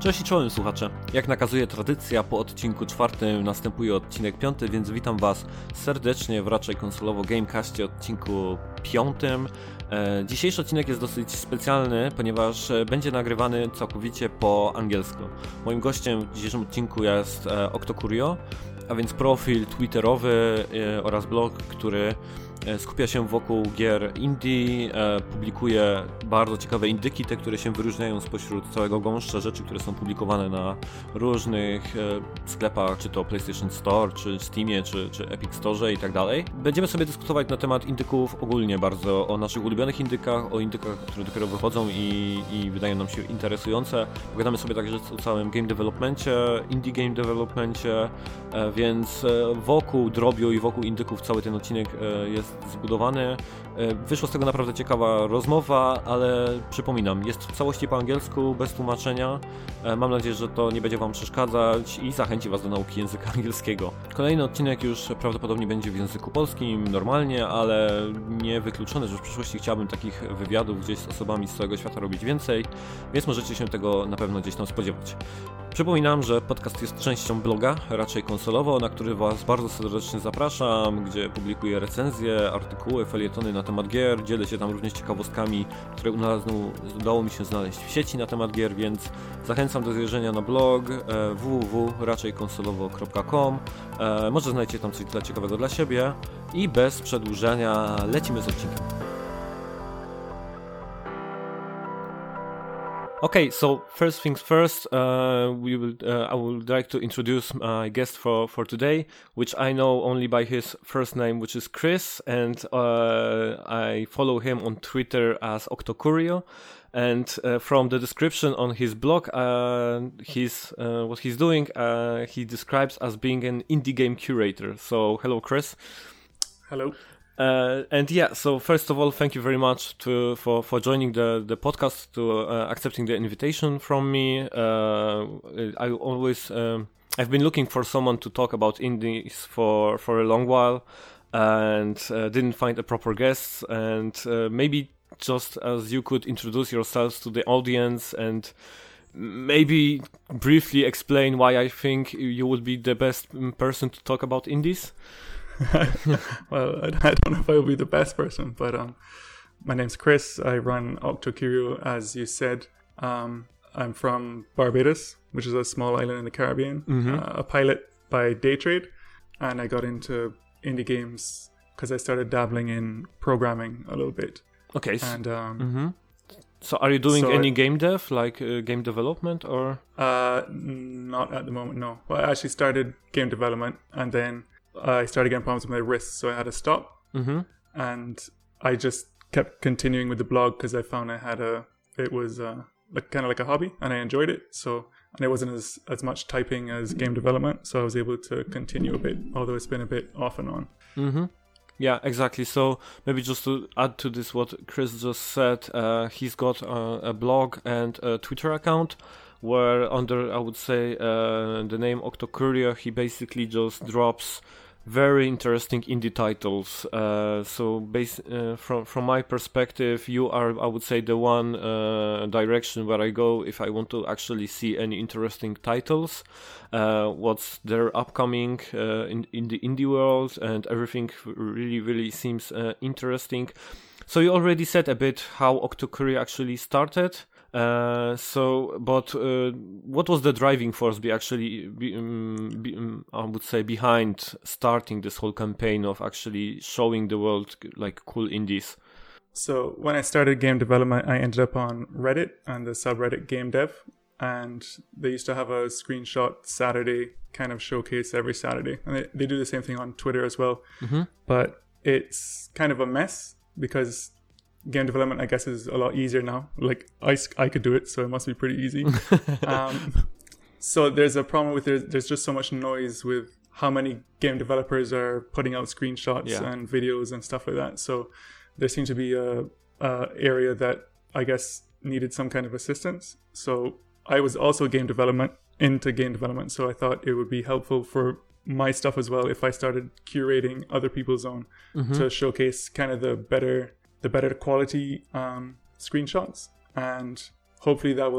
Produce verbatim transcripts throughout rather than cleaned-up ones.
Cześć i czołem słuchacze. Jak nakazuje tradycja, po odcinku czwartym następuje odcinek piąty, więc witam Was serdecznie w raczej konsolowo Gamecastie odcinku piątym. E, dzisiejszy odcinek jest dosyć specjalny, ponieważ będzie nagrywany całkowicie po angielsku. Moim gościem w dzisiejszym odcinku jest e, Octocurio, a więc profil twitterowy e, oraz blog, który skupia się wokół gier indie, e, publikuje bardzo ciekawe indyki, te, które się wyróżniają spośród całego gąszcza rzeczy, które są publikowane na różnych e, sklepach, czy to PlayStation Store, czy Steamie, czy, czy Epic Store i tak dalej. Będziemy sobie dyskutować na temat indyków ogólnie bardzo, o naszych ulubionych indykach, o indykach, które dopiero wychodzą i, i wydają nam się interesujące. Pogadamy sobie także o całym game developmencie, indie game developmencie, e, więc e, wokół drobiu i wokół indyków cały ten odcinek e, jest zbudowany. Wyszła z tego naprawdę ciekawa rozmowa, ale przypominam, jest w całości po angielsku, bez tłumaczenia. Mam nadzieję, że to nie będzie Wam przeszkadzać i zachęci Was do nauki języka angielskiego. Kolejny odcinek już prawdopodobnie będzie w języku polskim, normalnie, ale nie wykluczone, że w przyszłości chciałbym takich wywiadów gdzieś z osobami z całego świata robić więcej, więc możecie się tego na pewno gdzieś tam spodziewać. Przypominam, że podcast jest częścią bloga, raczej konsolowo, na który Was bardzo serdecznie zapraszam, gdzie publikuję recenzje, artykuły, felietony na temat gier, dzielę się tam również ciekawostkami, które udało mi się znaleźć w sieci na temat gier, więc zachęcam do zajrzenia na blog w w w kropka raczej konsolowo kropka com. Może znajdziecie tam coś dla ciekawego dla siebie i bez przedłużania lecimy z odcinkiem. Okay, so first things first, uh, we will, uh, I would like to introduce my guest for, for today, which I know only by his first name, which is Chris, and uh, I follow him on Twitter as Octocurio. And uh, from the description on his blog, uh, he's, uh, what he's doing, uh, he describes as being an indie game curator. So, hello, Chris. Hello. Uh, and yeah, so first of all, thank you very much to for, for joining the, the podcast, to uh, accepting the invitation from me. Uh, I always, um, I've been looking for someone to talk about indies for, for a long while and uh, didn't find a proper guest. And uh, maybe just as you could introduce yourselves to the audience and maybe briefly explain why I think you would be the best person to talk about indies. Well, I, I don't know if I will be the best person, but um, my name's Chris. I run Octocurio, as you said. Um, I'm from Barbados, which is a small island in the Caribbean, mm-hmm. uh, a pilot by day trade, and I got into indie games because I started dabbling in programming a little bit. Okay. And um, mm-hmm. So are you doing so any I, game dev, like uh, game development, or? Uh, not at the moment, no. Well, I actually started game development, and then I started getting problems with my wrists, so I had to stop. Mm-hmm. And I just kept continuing with the blog because I found I had a, it was uh, like kind of like a hobby, and I enjoyed it. So, and it wasn't as, as much typing as game development, so I was able to continue a bit, although it's been a bit off and on. Mm-hmm. Yeah, exactly. So maybe just to add to this what Chris just said, uh, he's got uh, a blog and a Twitter account where under, I would say, uh, the name Octocurio, he basically just drops very interesting indie titles. Uh, so base, uh, from from my perspective, you are, I would say, the one uh, direction where I go if I want to actually see any interesting titles, uh, what's their upcoming uh, in, in the indie world, and everything really, really seems uh, interesting. So you already said a bit how Octocurio actually started. Uh, so, but uh, what was the driving force be actually, be, um, be, um, I would say, behind starting this whole campaign of actually showing the world like cool indies? So when I started game development, I ended up on Reddit and the subreddit Game Dev, and they used to have a screenshot Saturday kind of showcase every Saturday, and they, they do the same thing on Twitter as well. Mm-hmm. But it's kind of a mess because game development, I guess, is a lot easier now. Like, I, I could do it, so it must be pretty easy. um, so there's a problem with there's, there's just so much noise with how many game developers are putting out screenshots yeah. and videos and stuff like that. So there seemed to be a, a area that I guess needed some kind of assistance. So I was also game development into game development. So I thought it would be helpful for my stuff as well if I started curating other people's own mm-hmm. to showcase kind of the better the better quality um, screenshots, and hopefully that will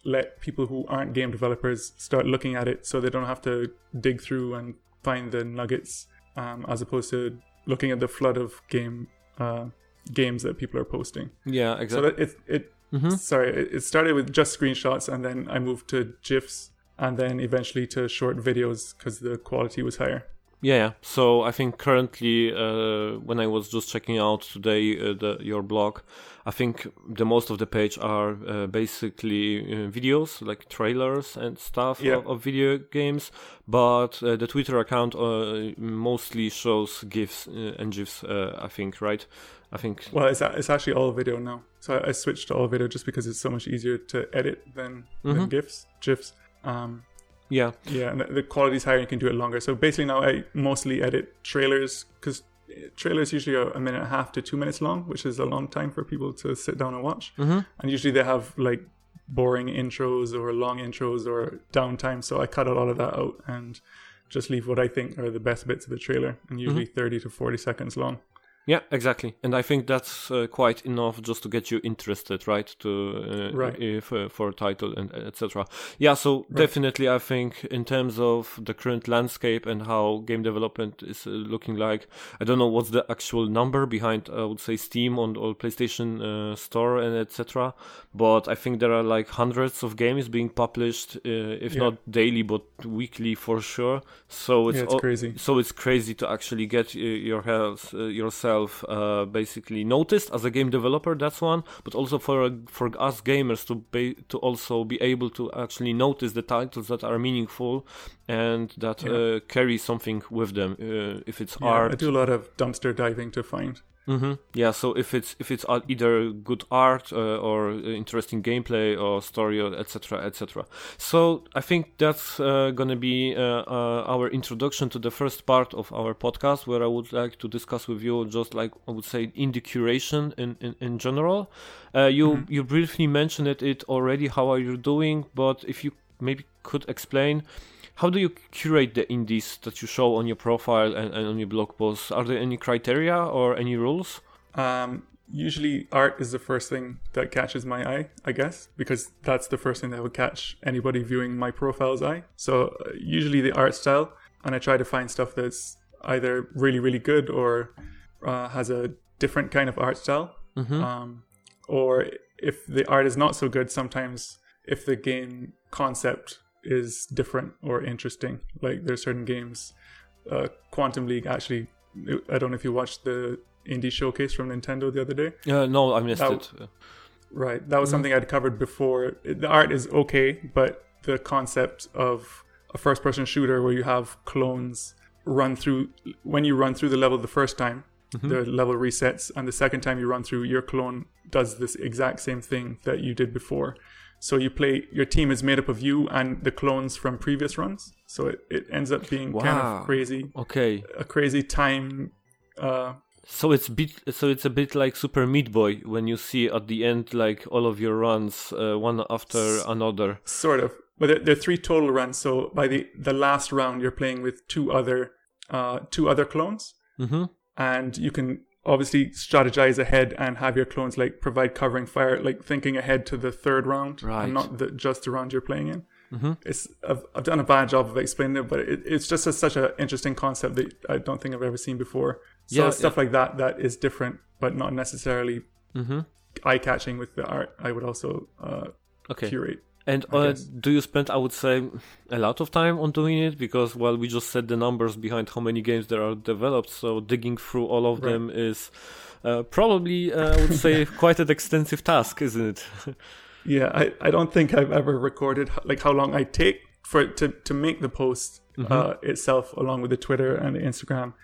let people who aren't game developers start looking at it, so they don't have to dig through and find the nuggets, um, as opposed to looking at the flood of game uh, games that people are posting. Yeah, exactly. So that it it mm-hmm. sorry, it, it started with just screenshots, and then I moved to GIFs, and then eventually to short videos because the quality was higher. Yeah, yeah. So I think currently, uh, when I was just checking out today uh, the, your blog, I think the most of the page are uh, basically uh, videos, like trailers and stuff Yeah. of, of video games. But uh, the Twitter account uh, mostly shows GIFs uh, and GIFs, uh, I think, right? I think. Well, it's it's actually all video now. So I, I switched to all video just because it's so much easier to edit than, Mm-hmm. than GIFs, GIFs. Um, Yeah. Yeah, and the, the quality's higher, you can do it longer. So basically now I mostly edit trailers, because trailers usually are a minute and a half to two minutes long, which is a long time for people to sit down and watch. Mm-hmm. And usually they have like boring intros or long intros or downtime. So I cut a lot of that out and just leave what I think are the best bits of the trailer, and usually mm-hmm. thirty to forty seconds long. Yeah, exactly. And I think that's uh, quite enough just to get you interested, right? To uh, right. If, uh, for a title and et cetera. Yeah, so right. definitely I think in terms of the current landscape and how game development is uh, looking like, I don't know what's the actual number behind, I would say, Steam on or PlayStation uh, Store and et cetera. But I think there are like hundreds of games being published, uh, if yeah. not daily, but weekly for sure. So it's, yeah, it's o- crazy. So it's crazy to actually get uh, your health, uh, yourself Uh, basically noticed as a game developer. That's one, but also for uh, for us gamers to be to also be able to actually notice the titles that are meaningful and that yeah. uh, carry something with them. Uh, if it's yeah, art, I do a lot of dumpster diving to find. Mm-hmm. Yeah, so if it's if it's either good art uh, or interesting gameplay or story, or et cetera, et cetera. So I think that's uh, gonna be uh, uh, our introduction to the first part of our podcast, where I would like to discuss with you just like I would say indie curation in in, in general. Uh, you mm-hmm. you briefly mentioned it, it already. How are you doing? But if you maybe could explain. How do you curate the indies that you show on your profile and, and on your blog posts? Are there any criteria or any rules? Um, usually art is the first thing that catches my eye, I guess, because that's the first thing that would catch anybody viewing my profile's eye. So uh, usually the art style, and I try to find stuff that's either really, really good or uh, has a different kind of art style. Mm-hmm. Um, or if the art is not so good, sometimes if the game concept is different or interesting. Like there's certain games, uh, Quantum League actually, I don't know if you watched the indie showcase from Nintendo the other day. Uh, no, I missed that, it. Right, that was mm-hmm. something I'd covered before. The art is okay, but the concept of a first-person shooter where you have clones run through, when you run through the level the first time, mm-hmm. the level resets, and the second time you run through, your clone does this exact same thing that you did before. So you play, your team is made up of you and the clones from previous runs. So it, it ends up being wow. kind of crazy. Okay. A crazy time. Uh, so it's bit, so it's a bit like Super Meat Boy when you see at the end like all of your runs uh, one after s- another. Sort of. But there, there are three total runs. So by the, the last round, you're playing with two other uh, two other clones. Mm-hmm. And you can obviously strategize ahead and have your clones like provide covering fire, like thinking ahead to the third round, right. and not the, just the round you're playing in. Mm-hmm. It's I've, I've done a bad job of explaining it, but it, it's just a, such an interesting concept that I don't think I've ever seen before. So yeah, stuff yeah. like that that is different, but not necessarily mm-hmm. eye-catching with the art. I would also uh, okay. curate. And uh, do you spend, I would say, a lot of time on doing it? Because, well, we just said the numbers behind how many games there are developed, so digging through all of right. them is uh, probably, uh, I would say, quite an extensive task, isn't it? Yeah, I, I don't think I've ever recorded like how long I take for to, to make the post mm-hmm. uh, itself, along with the Twitter and the Instagram.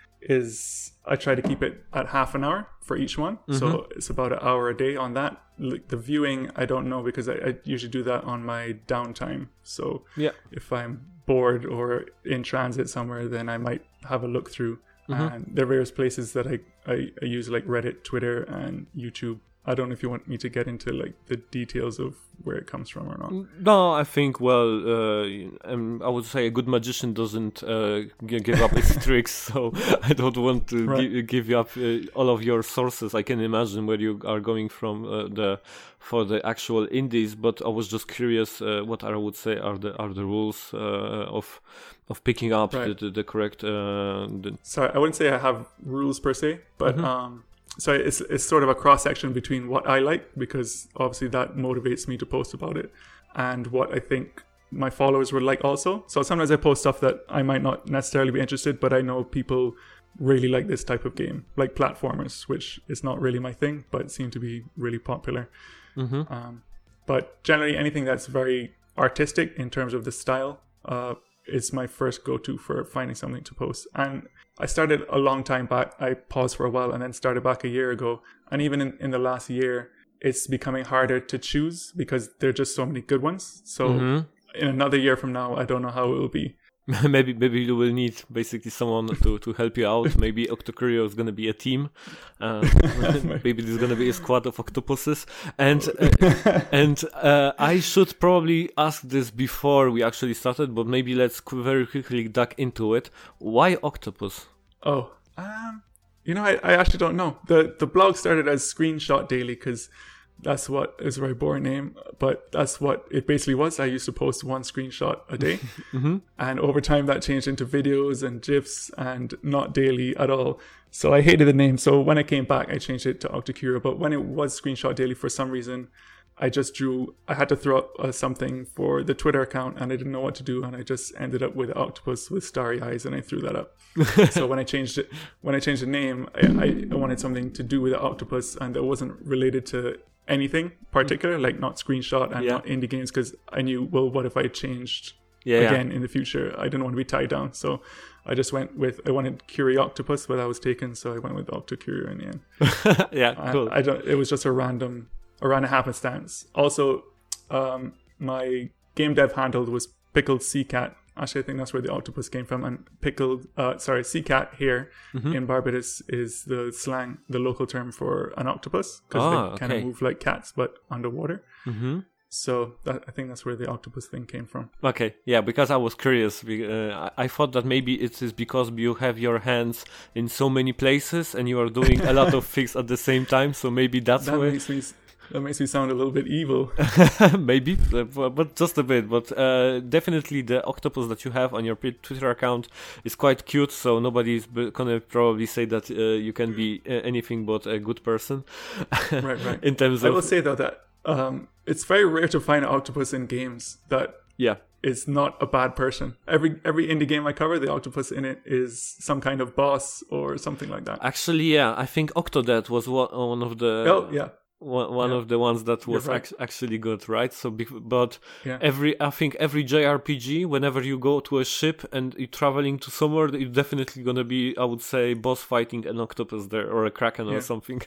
Is I try to keep it at half an hour for each one, mm-hmm. so it's about an hour a day on that. Like the viewing, I don't know because I, I usually do that on my downtime. So yeah, if I'm bored or in transit somewhere, then I might have a look through. Mm-hmm. And there are various places that I, I, I use like Reddit, Twitter, and YouTube I don't know if you want me to get into like the details of where it comes from or not. No, I think, well, uh, um, I would say a good magician doesn't uh, g- give up his tricks, so I don't want to Right. gi- give you up uh, all of your sources. I can imagine where you are going from uh, the for the actual indies, but I was just curious uh, what I would say are the are the rules uh, of of picking up Right. the, the, the correct. Uh, the... Sorry, I wouldn't say I have rules per se, but Mhm. um, so it's it's sort of a cross section between what I like, because obviously that motivates me to post about it, and what I think my followers would like also. So sometimes I post stuff that I might not necessarily be interested, but I know people really like this type of game, like platformers, which is not really my thing, but seem to be really popular. Mm-hmm. Um, but generally, anything that's very artistic in terms of the style uh, is my first go-to for finding something to post. And I started a long time back. I paused for a while and then started back a year ago. And even in, in the last year, it's becoming harder to choose because there are just so many good ones. So Mm-hmm. in another year from now, I don't know how it will be. maybe maybe you will need basically someone to, to help you out. Maybe Octocurio is gonna be a team. Uh, maybe there's gonna be a squad of octopuses. And uh, and uh, I should probably ask this before we actually started, but maybe let's qu- very quickly duck into it. Why octopus? Oh, um, you know, I, I actually don't know. The the blog started as Screenshot Daily because that's what is a very boring name, but that's what it basically was. I used to post one screenshot a day, Mm-hmm. and over time that changed into videos and GIFs and not daily at all. So I hated the name. So when I came back, I changed it to Octocurio. But when it was Screenshot Daily, for some reason, I just drew, I had to throw up uh, something for the Twitter account and I didn't know what to do. And I just ended up with an octopus with starry eyes and I threw that up. So when I changed it, when I changed the name, I, I, I wanted something to do with the octopus and that wasn't related to anything particular, like not screenshot and Yeah. not indie games, because I knew, well, what if I changed Yeah, yeah. again in the future? I didn't want to be tied down. So I just went with, I wanted Curioctopus, but that was taken. So I went with Octocurio in the end. yeah, I- cool. I, don't. It was just a random, a random happenstance. Also, um, my game dev handle was Pickled Sea Cat. Actually, I think that's where the octopus came from. And pickled, uh, sorry, sea cat here Mhm. in Barbados is the slang, the local term for an octopus, because Ah, they kind okay. of move like cats but underwater. Mm-hmm. So that, I think that's where the octopus thing came from. Okay, yeah, because I was curious. be- Uh, I I thought that maybe it is because you have your hands in so many places and you are doing a lot of things at the same time. So maybe that's That why. makes me that makes me sound a little bit evil. Maybe, uh, bu- but just a bit. But uh, definitely the octopus that you have on your p- Twitter account is quite cute. So nobody's b- gonna probably say that uh, you can be uh, anything but a good person. Right, right. In terms I will of say though that um, it's very rare to find an octopus in games that yeah. is not a bad person. Every every indie game I cover, the octopus in it is some kind of boss or something like that. Actually, yeah, I think Octodad was one one of the oh yeah, one, one Yeah. of the ones that was You're right. ac- actually good, right? So, bec- but yeah. every I think every J R P G, whenever you go to a ship and you're traveling to somewhere, you're definitely gonna be, I would say, boss fighting an octopus there or a kraken or Yeah. something.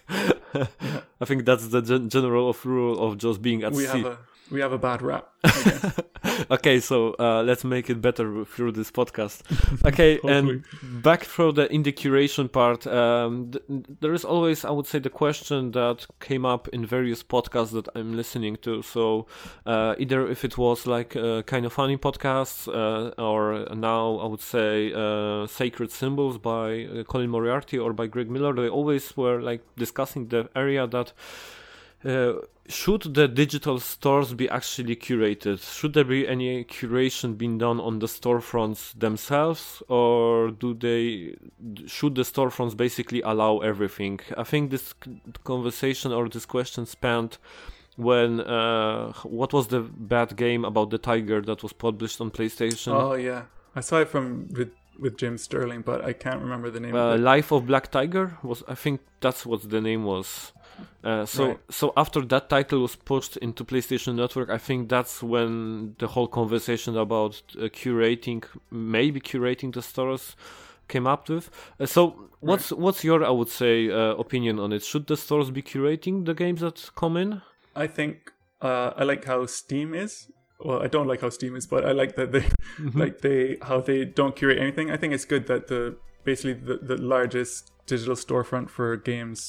I think that's the gen- general of rule of just being at we sea. have a we have a bad rap. I guess. Okay, so uh, let's make it better through this podcast. Okay, and Hopefully. back for the indie curation part, um, th- there is always, I would say, the question that came up in various podcasts that I'm listening to. So uh, either if it was like uh, kind of funny podcasts, uh, or now I would say uh, Sacred Symbols by uh, Colin Moriarty or by Greg Miller, they always were like discussing the area that uh, should the digital stores be actually curated? Should there be any curation being done on the storefronts themselves, or do they should the storefronts basically allow everything? I think this c- conversation or this question spanned when uh, what was the bad game about the tiger that was published on PlayStation? Oh yeah, I saw it from with with Jim Sterling, but I can't remember the name Uh, of it. Life of Black Tiger was, I think that's what the name was. Uh, so Right. so after that title was pushed into PlayStation Network, I think that's when the whole conversation about uh, curating, maybe curating the stores, came up with. Uh, so what's what's your, I would say, uh, opinion on it? Should the stores be curating the games that come in? I think uh, I like how Steam is. Well, I don't like how Steam is, but I like that they like they how they don't curate anything. I think it's good that the basically the, the largest digital storefront for games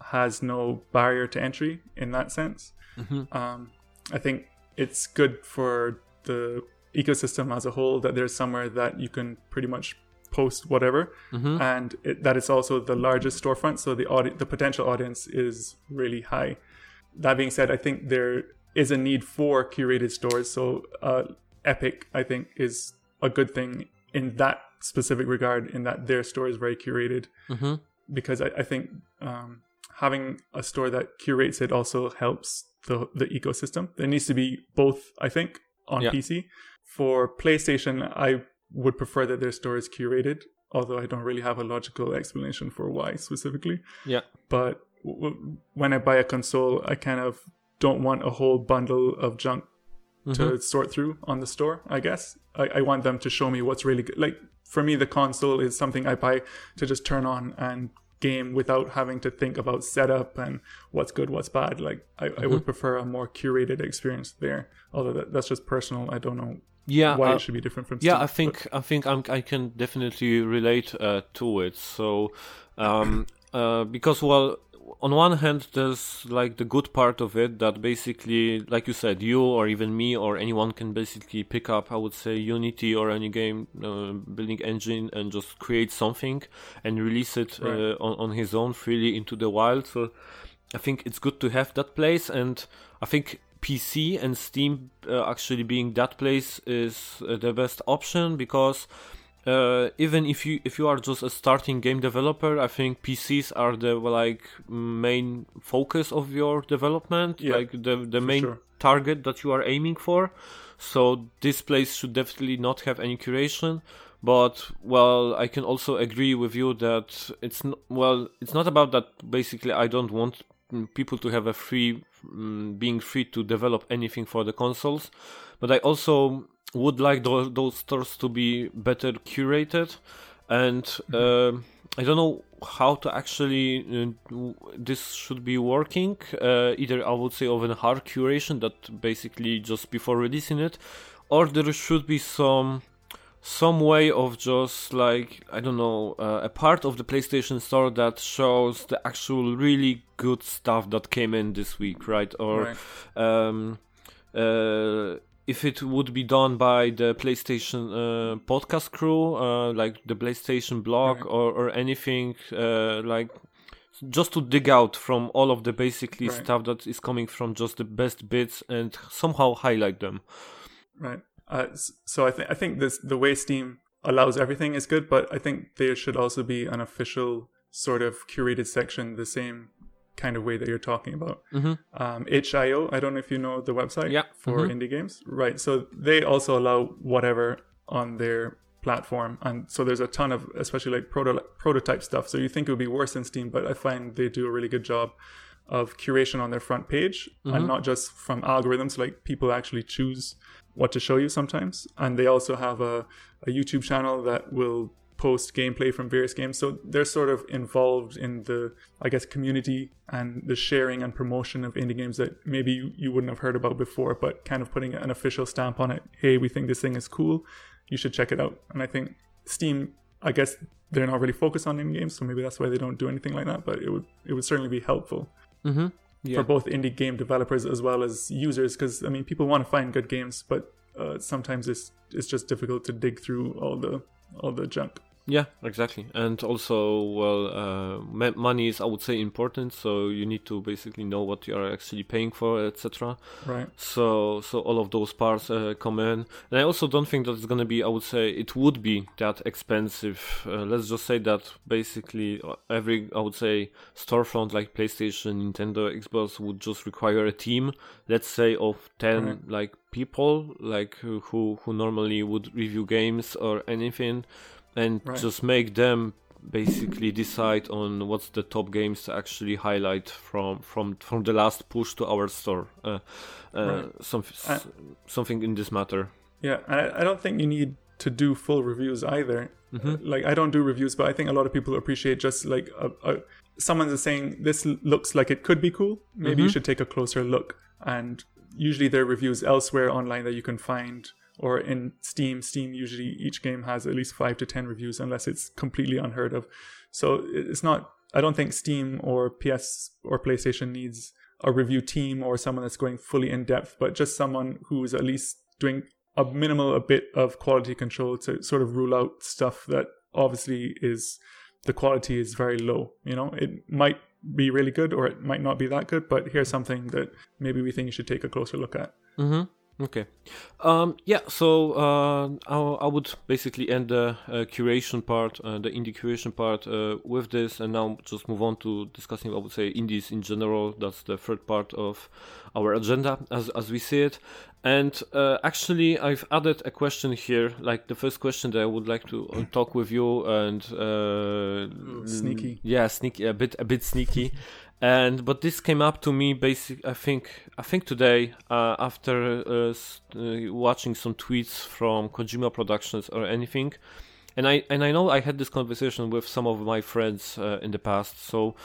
has no barrier to entry in that sense. Mm-hmm. Um, I think it's good for the ecosystem as a whole that there's somewhere that you can pretty much post whatever, Mm-hmm. and it, that it's also the largest storefront, so the audi- the potential audience is really high. That being said, I think there is a need for curated stores. So uh, Epic, I think, is a good thing in that specific regard, in that their store is very curated. Mm-hmm. Because I, I think um, having a store that curates it also helps the the ecosystem. There needs to be both, I think, on Yeah. P C. For PlayStation, I would prefer that their store is curated, although I don't really have a logical explanation for why specifically. Yeah. But w- when I buy a console, I kind of don't want a whole bundle of junk to Mm-hmm. sort through on the store, I guess. I, I want them to show me what's really good. Like, for me, the console is something I buy to just turn on and game without having to think about setup and what's good, what's bad. Like, I, I would prefer a more curated experience there. Although that, that's just personal. I don't know Yeah. why uh, it should be different from Steam. Yeah, I think I think I'm, I can definitely relate uh, to it. So, um, uh, because well, on one hand, there's like the good part of it that basically, like you said, you or even me or anyone can basically pick up, I would say, Unity or any game uh, building engine and just create something and release it uh, Right. on on his own freely into the wild. So, I think it's good to have that place, and I think P C and Steam uh, actually being that place is uh, the best option, because uh, even if you if you are just a starting game developer, I think P Cs are the like main focus of your development, Yeah, like the the main sure. target that you are aiming for. So this place should definitely not have any curation. But well, I can also agree with you that it's n- well, it's not about that. Basically, I don't want mm, people to have a free, mm, being free to develop anything for the consoles, but I also would like those, those stores to be better curated, and uh, I don't know how to actually uh, w- this should be working. Uh, either I would say of a hard curation that basically just before releasing it, or there should be some some way of just like, I don't know, uh, a part of the PlayStation Store that shows the actual really good stuff that came in this week, right? Or Right. um, uh, if it would be done by the PlayStation uh, podcast crew, uh, like the PlayStation blog, Right. or, or anything uh, like, just to dig out from all of the basically Right. stuff that is coming from just the best bits and somehow highlight them. Right. Uh, s- so I think I think this the way Steam allows everything is good, but I think there should also be an official sort of curated section, the same kind of way that you're talking about. Mm-hmm. Um, itch dot i o, I don't know if you know the website Yeah. for Mhm. indie games, right? So they also allow whatever on their platform, and so there's a ton of, especially like proto- prototype stuff. So you think it would be worse than Steam, but I find they do a really good job of curation on their front page, and not just from algorithms. Like, people actually choose what to show you sometimes, and they also have a, a YouTube channel that will post gameplay from various games. So they're sort of involved in the, I guess, community and the sharing and promotion of indie games that maybe you, you wouldn't have heard about before, but kind of putting an official stamp on it. Hey, we think this thing is cool, you should check it out. And I think Steam, I guess they're not really focused on indie games, so maybe that's why they don't do anything like that, but it would it would certainly be helpful Mm-hmm. Yeah. for both indie game developers as well as users, because I mean, people want to find good games, but uh, sometimes it's it's just difficult to dig through all the all the junk. Yeah, exactly. And also, well, uh, ma- money is, I would say, important. So you need to basically know what you are actually paying for, et cetera. Right. So, so all of those parts uh, come in. And I also don't think that it's gonna be, I would say, it would be that expensive. Uh, let's just say that basically uh, every, I would say, storefront like PlayStation, Nintendo, Xbox would just require a team. Let's say of ten Right. like people, like who who who normally would review games or anything. And Right. just make them basically decide on what's the top games to actually highlight from from from the last push to our store. Uh, uh, Right. some, I- something in this matter. Yeah, I, I don't think you need to do full reviews either. Mm-hmm. Uh, like, I don't do reviews, but I think a lot of people appreciate just like a, a, someone is saying this l- looks like it could be cool. Maybe you Mhm. should take a closer look. And usually there are reviews elsewhere online that you can find, or in Steam. Steam usually each game has at least five to ten reviews, unless it's completely unheard of. So it's not I don't think Steam or P S or PlayStation needs a review team or someone that's going fully in depth, but just someone who's at least doing a minimal a bit of quality control to sort of rule out stuff that obviously is the quality is very low. You know, it might be really good or it might not be that good, but here's something that maybe we think you should take a closer look at. Mm-hmm. Okay. Um, yeah, so uh, I, I would basically end the uh, curation part, uh, the indie curation part uh, with this, and now just move on to discussing, I would say, indies in general. That's the third part of our agenda as as we see it. And uh, actually, I've added a question here, like the first question that I would like to uh, talk with you, and uh, Ooh, sneaky. Yeah, sneaky, a bit, a bit sneaky. And but this came up to me basic. I think I think today uh, after uh, uh, watching some tweets from Kojima Productions or anything, and I and I know I had this conversation with some of my friends uh, in the past. So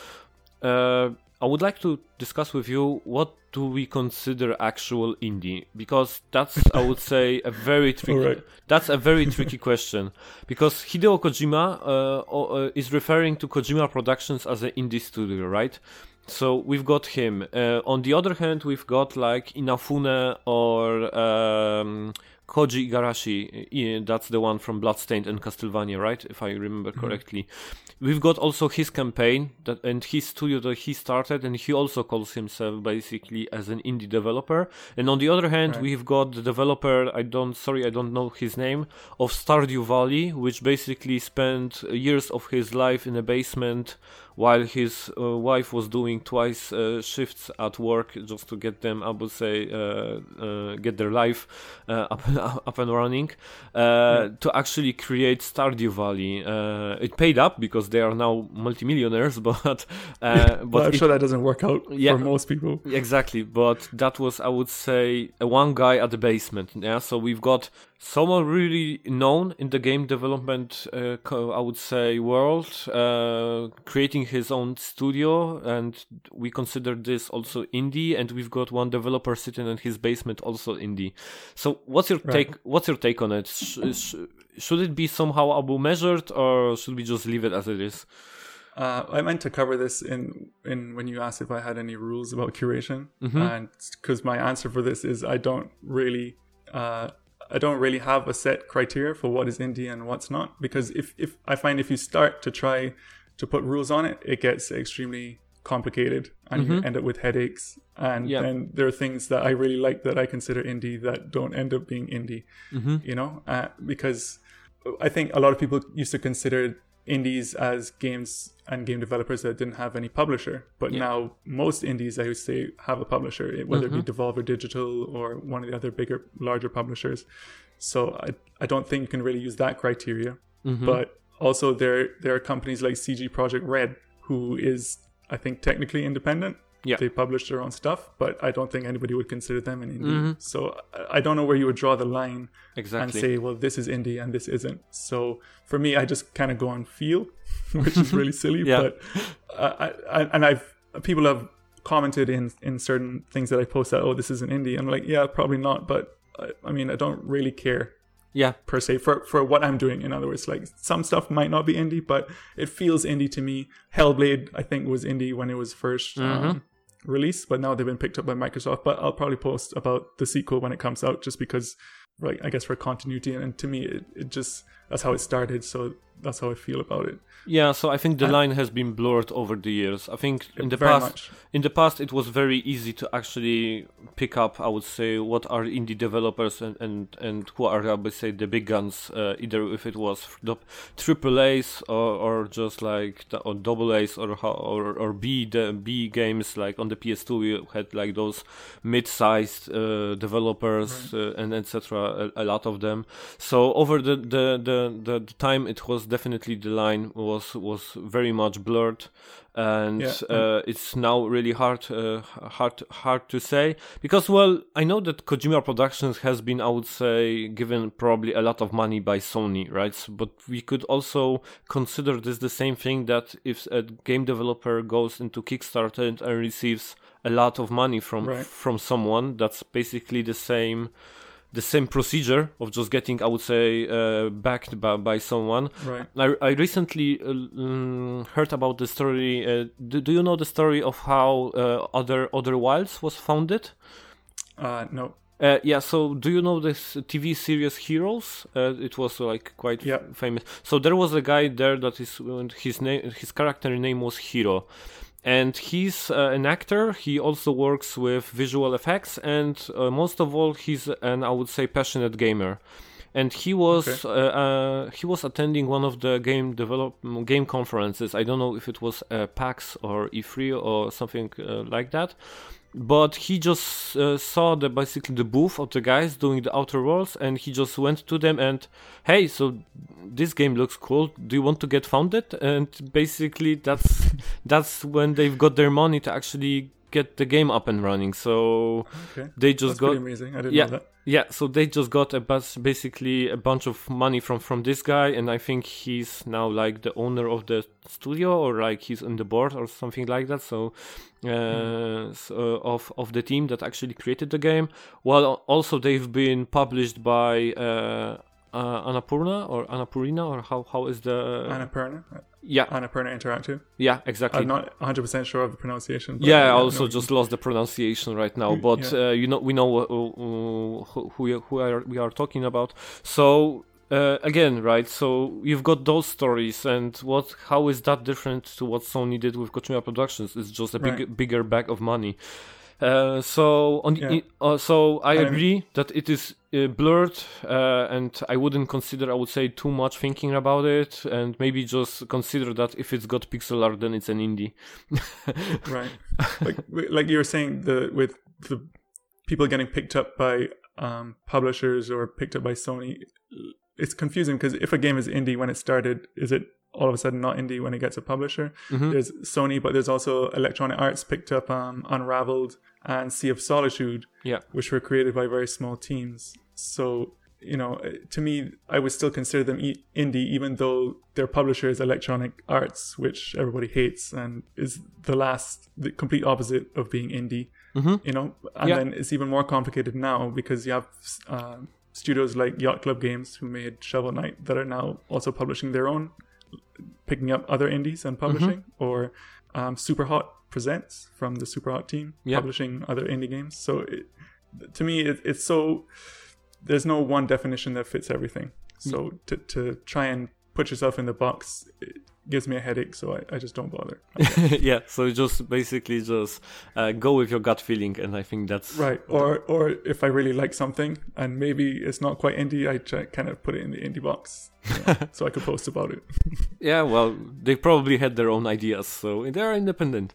uh, I would like to discuss with you, what do we consider actual indie? Because that's, I would say, a very tricky. Right. That's a very tricky question, because Hideo Kojima uh, uh, is referring to Kojima Productions as an indie studio, right? So we've got him. Uh, on the other hand, we've got like Inafune or um, Koji Igarashi. That's the one from Bloodstained and Castlevania, right? If I remember mm-hmm. correctly. We've got also his campaign that and his studio that he started, and he also calls himself basically as an indie developer. And on the other hand, right. we've got the developer, I don't, sorry, I don't know his name, of Stardew Valley, which basically spent years of his life in a basement while his uh, wife was doing twice uh, shifts at work just to get them, I would say, uh, uh, get their life uh, up, up and running, uh, yeah. to actually create Stardew Valley. Uh, it paid up because they are now multimillionaires, but uh, but well, I'm it, sure that doesn't work out yeah, for most people. Exactly, but that was, I would say, a one guy at the basement. Yeah, so we've got someone really known in the game development, uh, I would say, world, uh, creating his own studio, and we consider this also indie. And we've got one developer sitting in his basement, also indie. So, what's your right. take? What's your take on it? Sh- sh- should it be somehow Abu measured, or should we just leave it as it is? Uh, I meant to cover this in, in when you asked if I had any rules about curation, mm-hmm. and because my answer for this is I don't really. Uh, I don't really have a set criteria for what is indie and what's not, because if, if I find if you start to try to put rules on it, it gets extremely complicated and mm-hmm. you end up with headaches. And yeah. then there are things that I really like that I consider indie that don't end up being indie, mm-hmm. you know, uh, because I think a lot of people used to consider indies as games and game developers that didn't have any publisher, but yeah. now most indies, I would say, have a publisher, whether mm-hmm. it be Devolver Digital or one of the other bigger, larger publishers. So I I don't think you can really use that criteria. Mm-hmm. But also there there are companies like C G Project Red, who is, I think, technically independent. Yeah. They publish their own stuff, but I don't think anybody would consider them an indie. Mm-hmm. So I don't know where you would draw the line exactly. and say, well, this is indie and this isn't. So for me, I just kind of go on feel, which is really silly. yeah. But I, I, and I've people have commented in in certain things that I post that, oh, this is an indie. I'm like, yeah, probably not. But I, I mean, I don't really care. Yeah, per se for for what I'm doing. In other words, like some stuff might not be indie, but it feels indie to me. Hellblade, I think, was indie when it was first mm-hmm. um, released, but now they've been picked up by Microsoft. But I'll probably post about the sequel when it comes out, just because, like, I guess for continuity. And to me, it, it just that's how it started. So that's how I feel about it. Yeah, so I think the and, line has been blurred over the years. I think in the very past, much. in the past, it was very easy to actually pick up, I would say, what are indie developers and and, and who are, I would say, the big guns. Uh, either if it was the triple A's or, or just like the, or double A's or or or B the B games. Like on the P S two, we had like those mid-sized uh, developers right. uh, and et cetera. A, a lot of them. So over the the, the the the time, it was definitely the line was was very much blurred, and yeah. uh, it's now really hard uh, hard hard to say, because, well, I know that Kojima Productions has been, I would say, given probably a lot of money by Sony, right? So, but we could also consider this the same thing, that if a game developer goes into Kickstarter and receives a lot of money from right. from someone, that's basically the same the same procedure of just getting, I would say, uh, backed by, by someone. Right. I, I recently uh, um, heard about the story. Uh, do, do you know the story of how uh, Other Other Wilds was founded? Uh, no. Uh, yeah, so do you know this T V series Heroes? Uh, it was uh, like quite Yeah. f- famous. So there was a guy there that is his name, his character name was Hero, and he's uh, an actor. He also works with visual effects, and uh, most of all, he's an, I would say, passionate gamer. And he was Okay. uh, uh, he was attending one of the game develop game conferences. I don't know if it was uh, PAX or E three or something uh, like that. But he just uh, saw the basically the booth of the guys doing the Outer Worlds, and he just went to them and, hey, so this game looks cool. Do you want to get funded? And basically, that's that's when they've got their money to actually get the game up and running. So Okay. they just That's got pretty amazing. I didn't yeah. know that. Yeah, so they just got a bus, basically a bunch of money from, from this guy, and I think he's now like the owner of the studio, or like he's on the board or something like that. So, uh, Mm. so of of the team that actually created the game. Well, also they've been published by uh, uh, Annapurna or Annapurna, or how how is the Annapurna. yeah Annapurna Interactive. yeah exactly. I'm not one hundred percent sure of the pronunciation. But Yeah, I uh, also no, just lost the pronunciation right now, Mm, but yeah. uh, you know we know uh, uh, who who who are, we are talking about. So uh, again, right? So you've got those stories, and what? How is that different to what Sony did with Kojima Productions? It's just a big, Right. bigger bag of money. Uh, so on, Yeah. i- uh, so I And- agree that it is uh, blurred, uh, and I wouldn't consider, I would say, too much thinking about it, and maybe just consider that if it's got pixel art, then it's an indie. Right. Like like you were saying, the with the people getting picked up by um, publishers or picked up by Sony, it's confusing because if a game is indie when it started, is it all of a sudden not indie when it gets a publisher? Mhm. There's Sony, but there's also Electronic Arts picked up um, Unraveled and Sea of Solitude, Yeah. which were created by very small teams. So, you know, to me, I would still consider them e- indie, even though their publisher is Electronic Arts, which everybody hates and is the last, the complete opposite of being indie. Mhm. You know, and Yeah. then it's even more complicated now because you have uh, studios like Yacht Club Games who made Shovel Knight that are now also publishing their own, picking up other indies and publishing, Mm-hmm. or um, Superhot Presents from the Superhot team Yeah. publishing other indie games. So it, to me, it, it's so there's no one definition that fits everything. So to to try and put yourself in the box, it gives me a headache. So I, I just don't bother. Yeah, so just basically just uh, go with your gut feeling, and I think that's Right. Or or if I really like something and maybe it's not quite indie, I try, kind of put it in the indie box, you know, so I could post about it. Yeah, well, they probably had their own ideas, so they are independent.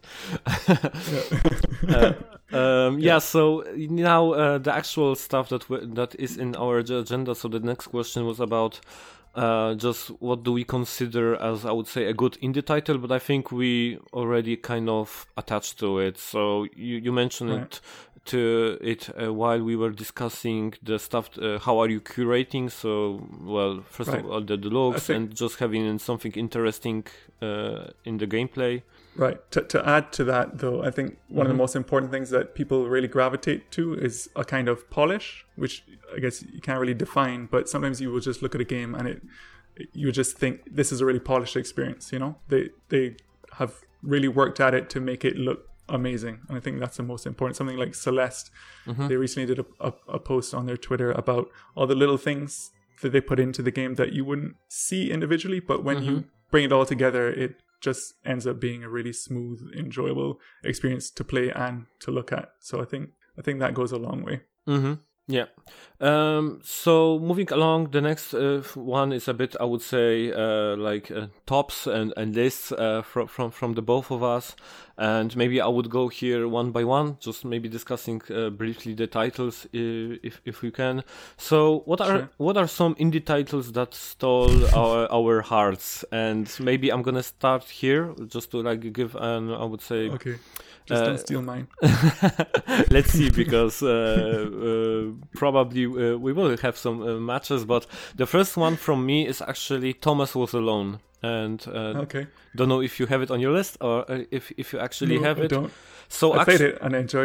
uh, um, yeah. So now uh, the actual stuff that w- that is in our ag- agenda. So the next question was about uh, just what do we consider as, I would say, a good indie title, but I think we already kind of attached to it. So you, you mentioned Right. it to it uh, while we were discussing the stuff. Uh, how are you curating? So, well, first Right. of all, the, the logs think- and just having something interesting uh, in the gameplay. Right. To, to add to that, though, I think one of Mhm. the most important things that people really gravitate to is a kind of polish, which I guess you can't really define, but sometimes you will just look at a game and it, you just think this is a really polished experience. You know, they they have really worked at it to make it look amazing, and I think that's the most important. Something like Celeste, Mhm. they recently did a, a, a post on their Twitter about all the little things that they put into the game that you wouldn't see individually, but when you bring it all together, it just ends up being a really smooth, enjoyable experience to play and to look at. So I think I think that goes a long way. Mm-hmm. Yeah. Um, so moving along, the next uh, one is a bit, I would say, uh, like uh, tops and, and lists uh, from from from the both of us, and maybe I would go here one by one, just maybe discussing uh, briefly the titles, uh, if if we can. So what are Sure. what are some indie titles that stole our our hearts? And maybe I'm gonna start here, just to like give an, I would say. Okay, just Uh, don't steal mine. Let's see, because uh, uh, probably uh, we will have some uh, matches, but the first one from me is actually Thomas Was Alone, and uh, Okay, don't know if you have it on your list or uh, if if you actually no, have I it. don't. So I actu- played it and I enjoyed it.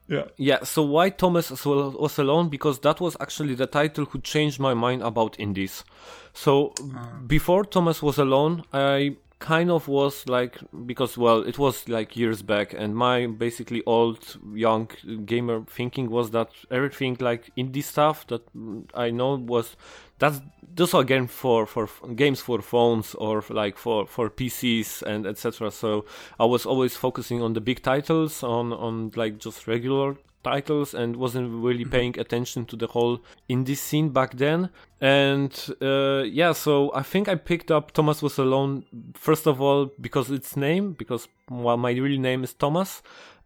Yeah. Yeah, so why Thomas Was Alone? Because that was actually the title who changed my mind about indies. So uh. before Thomas Was Alone, I kind of was like, because, well, it was like years back, and my basically old, young gamer thinking was that everything like indie stuff that I know was, that's, those are games for, for games for phones or like for, for P Cs and et cetera. So I was always focusing on the big titles, on, on like just regular titles, and wasn't really paying attention to the whole indie scene back then. And uh, yeah, so I think I picked up Thomas Was Alone first of all because its name, because well, my real name is Thomas.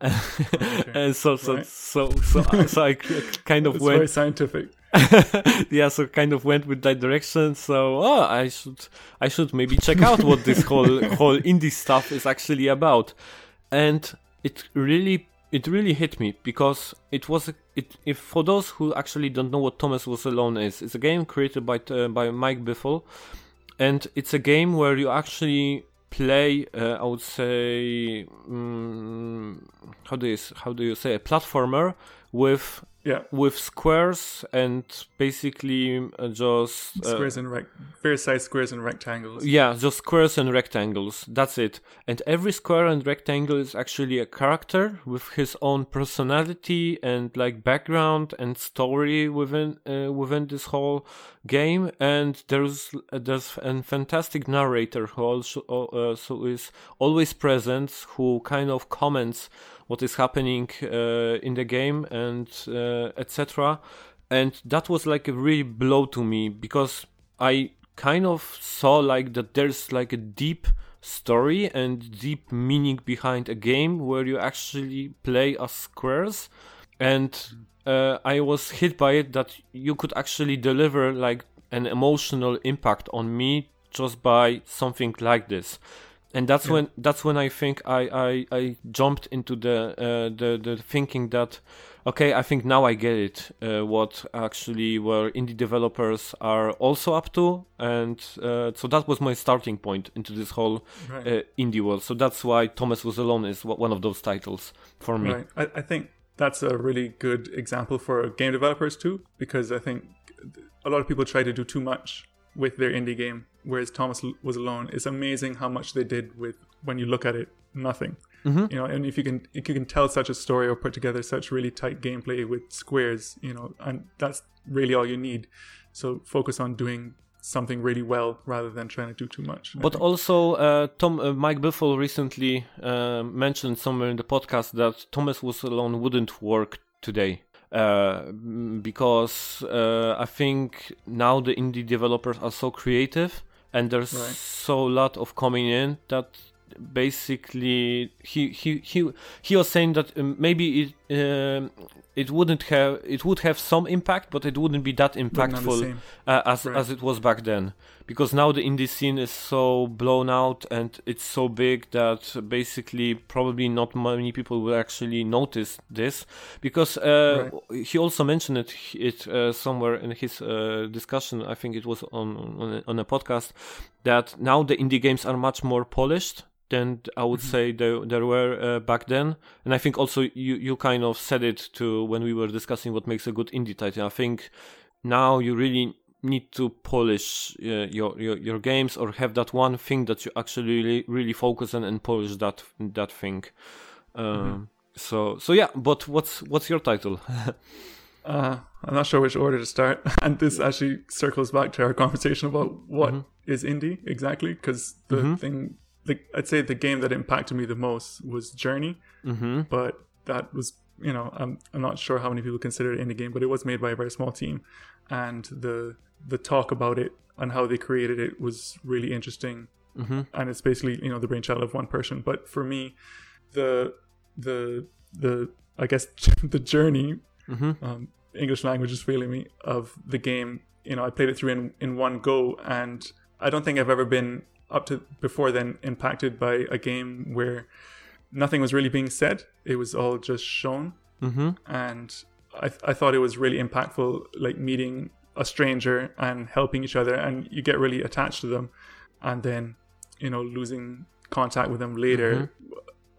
Okay. And so so, right. so so so so I kind of it's went very scientific. Yeah, so kind of went with that direction. So oh, I should I should maybe check out what this whole whole indie stuff is actually about. And it really It really hit me because it was a, it. If for those who actually don't know what Thomas Was Alone is, it's a game created by uh, by Mike Biffle, and it's a game where you actually play. Uh, I would say, um, how do you how do you say a platformer with yeah with squares and basically uh, just uh, squares and rec- various size squares and rectangles. Yeah, just squares and rectangles. That's it. And every square and rectangle is actually a character with his own personality and like background and story within uh, within this whole game. And there's uh, there's a fantastic narrator who also uh, so is always present, who kind of comments what is happening uh, in the game and uh, et cetera. And that was like a really blow to me because I kind of saw like that there's like a deep story and deep meaning behind a game where you actually play as squares. And uh, I was hit by it that you could actually deliver like an emotional impact on me just by something like this. And that's yeah. when that's when I think I, I, I jumped into the, uh, the the thinking that okay, I think now I get it, uh, what actually where indie developers are also up to, and uh, so that was my starting point into this whole right. uh, indie world. So that's why Thomas Was Alone is one of those titles for me. Right. I, I think that's a really good example for game developers too, because I think a lot of people try to do too much with their indie game, whereas Thomas Was Alone. It's amazing how much they did with, when you look at it, nothing. Mm-hmm. You know, and if you can if you can tell such a story or put together such really tight gameplay with squares, you know, and that's really all you need. So focus on doing something really well rather than trying to do too much. But also, uh, Tom uh, Mike Biffle recently uh, mentioned somewhere in the podcast that Thomas Was Alone wouldn't work today. Uh, because uh, I think now the indie developers are so creative and there's right. so lot of coming in that basically he he he he was saying that maybe it uh, it wouldn't have it would have some impact, but it wouldn't be that impactful uh, as right. as it was back then, because now the indie scene is so blown out and it's so big that basically probably not many people will actually notice this, because uh, right. he also mentioned it it uh, somewhere in his uh, discussion. I think it was on on a, on a podcast, that now the indie games are much more polished than I would mm-hmm. say there, there were uh, back then. And I think also you, you kind of said it too when we were discussing what makes a good indie title. I think now you really need to polish uh, your, your your games, or have that one thing that you actually really, really focus on and polish that that thing. Um, mm-hmm. So so yeah, but what's what's your title? uh, I'm not sure which order to start. And this actually circles back to our conversation about what mm-hmm. is indie exactly, because the mm-hmm. thing... The, I'd say the game that impacted me the most was Journey, mm-hmm. but that was, you know, I'm I'm not sure how many people consider it indie game, but it was made by a very small team, and the the talk about it and how they created it was really interesting, mm-hmm. and it's basically, you know, the brainchild of one person. But for me, the the the I guess the journey, mm-hmm. um, English language is failing me, of the game. You know, I played it through in in one go, and I don't think I've ever been up to before then impacted by a game where nothing was really being said. It was all just shown. Mm-hmm. And I th- I thought it was really impactful, like meeting a stranger and helping each other, and you get really attached to them, and then, you know, losing contact with them later. Mm-hmm.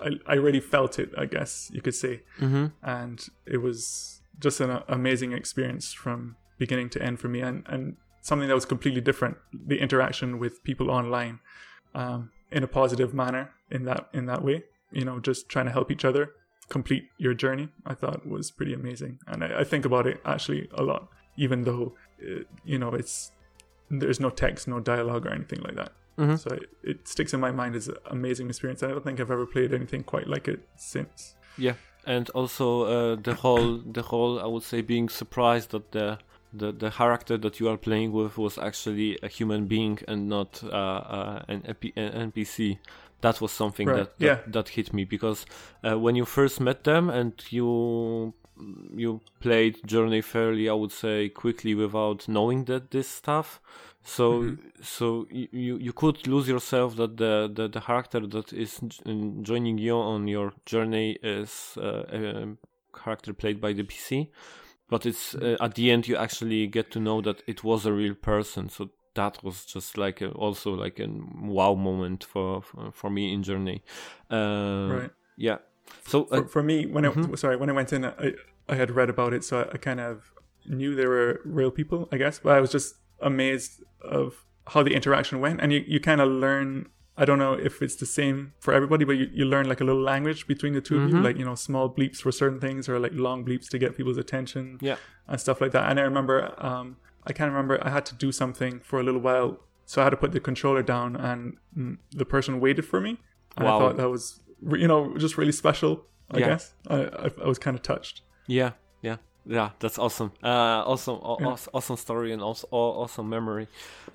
I, I really felt it, I guess you could say. Mm-hmm. And it was just an uh, amazing experience from beginning to end for me, and, and something that was completely different, the interaction with people online, um, in a positive manner in that in that way, you know, just trying to help each other complete your journey, I thought was pretty amazing. And I, I think about it actually a lot, even though, uh, you know, it's there's no text, no dialogue or anything like that. Mm-hmm. So it, it sticks in my mind as an amazing experience. I don't think I've ever played anything quite like it since. Yeah, and also uh, the whole, the whole, I would say, being surprised that the the the character that you are playing with was actually a human being and not uh, uh, an N P C. That was something Right. that, that Yeah. that hit me, because uh, when you first met them and you you played Journey fairly, I would say, quickly without knowing that this stuff. So Mm-hmm. so you you could lose yourself that the the, the character that is j- joining you on your journey is uh, a character played by the P C, but it's uh, at the end you actually get to know that it was a real person. So that was just like a, also like a wow moment for for, for me in Journey. Uh, Right. Yeah. So uh, For, for me, when Mhm. I sorry when I went in, I I had read about it, so I, I kind of knew they were real people, I guess. But I was just amazed of how the interaction went, and you, you kind of learn. I don't know if it's the same for everybody, but you, you learn like a little language between the two of you, Mhm. like, you know, small bleeps for certain things, or like long bleeps to get people's attention, yeah. and stuff like that. And I remember, um, I can't remember, I had to do something for a little while, so I had to put the controller down, and mm, the person waited for me, and Wow. I thought that was, re- you know, just really special. I Yeah. guess I, I I was kind of touched. Yeah, yeah, yeah. That's awesome. Uh, awesome, aw- Yeah. aw- awesome story and also aw- awesome memory.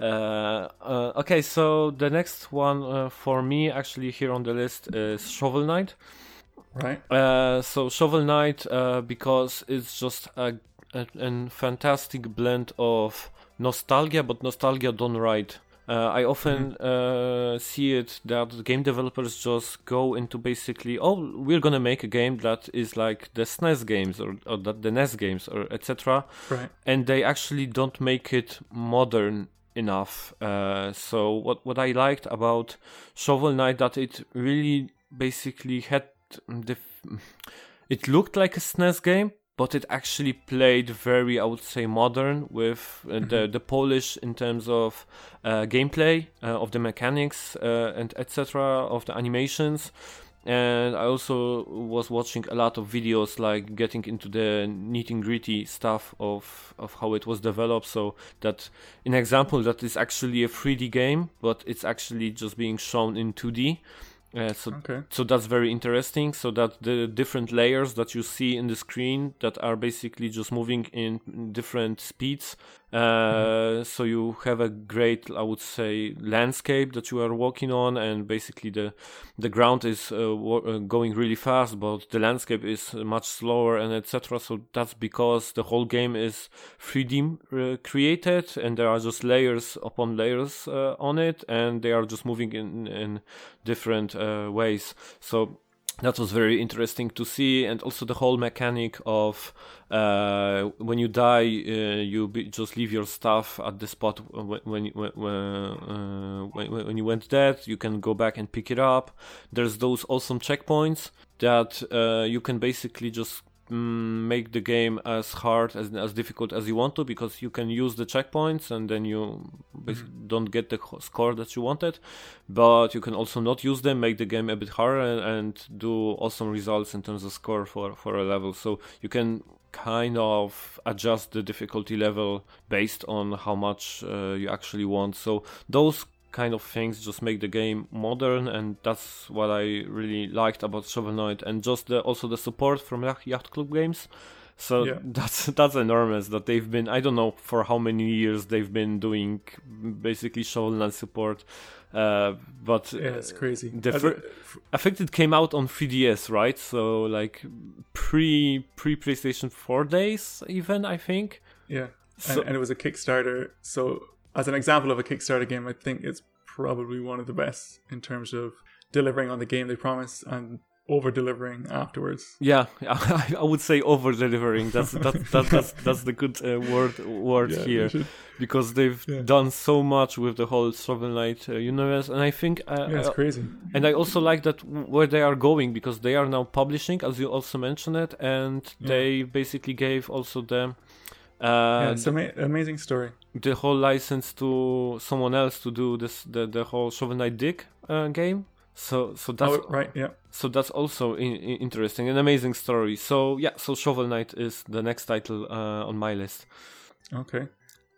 Uh, uh, okay, so the next one uh, for me actually here on the list is Shovel Knight. Right. Uh, so Shovel Knight, uh, because it's just a, a, a fantastic blend of nostalgia, but nostalgia done right. Uh, I often uh, see it that game developers just go into basically, oh, we're gonna make a game that is like the S N E S games or, or that the N E S games or et cetera, Right. and they actually don't make it modern enough. Uh, so what what I liked about Shovel Knight, that it really basically had the, f- it looked like a S N E S game, but it actually played very, I would say, modern with uh, the the polish in terms of uh, gameplay, uh, of the mechanics, uh, and et cetera, of the animations. And I also was watching a lot of videos, like getting into the nitty gritty stuff of of how it was developed. So that, an example that is actually a three D game, but it's actually just being shown in two D. Uh, so Okay. so that's very interesting. So that the different layers that you see in the screen that are basically just moving in different speeds. Uh, so you have a great, I would say, landscape that you are walking on, and basically the the ground is uh, wo- uh, going really fast, but the landscape is much slower, and et cetera. So that's because the whole game is three D uh, created, and there are just layers upon layers uh, on it, and they are just moving in in different uh, ways. So that was very interesting to see, and also the whole mechanic of uh, when you die, uh, you be, just leave your stuff at the spot when when you- when, uh, when when you went dead. You can go back and pick it up. There's those awesome checkpoints that uh, you can basically just mm, make the game as hard as as difficult as you want to, because you can use the checkpoints and then you basically don't get the ho- score that you wanted, but you can also not use them, make the game a bit harder, and, and do awesome results in terms of score for for a level. So you can kind of adjust the difficulty level based on how much uh, you actually want. So those kind of things just make the game modern, and that's what I really liked about Shovel Knight, and just the, also the support from Yacht Yacht Club Games. So Yeah. that's that's enormous that they've been, I don't know for how many years they've been doing basically Shovel Knight support, uh, but Yeah, it's crazy. the As fir- I think it came out on three D S, right? So like pre pre PlayStation four days, even, I think. Yeah, So- and, and it was a Kickstarter. So, as an example of a Kickstarter game, I think it's probably one of the best in terms of delivering on the game they promised. And over delivering afterwards. Yeah, I, I would say over delivering. That's that, that, that's that's the good uh, word word Yeah, here, they should- because they've Yeah. done so much with the whole Shovel Knight uh, universe, and I think uh, yeah, it's uh, crazy. and I also like that w- where they are going, because they are now publishing, as you also mentioned it, and Yeah. they basically gave also the uh, Yeah, it's an ama- amazing story. the whole license to someone else to do this the the whole Shovel Knight Dig uh, game. So so that's Oh, right, yeah. so that's also in, in interesting, an amazing story. So yeah, so Shovel Knight is the next title uh, on my list. Okay.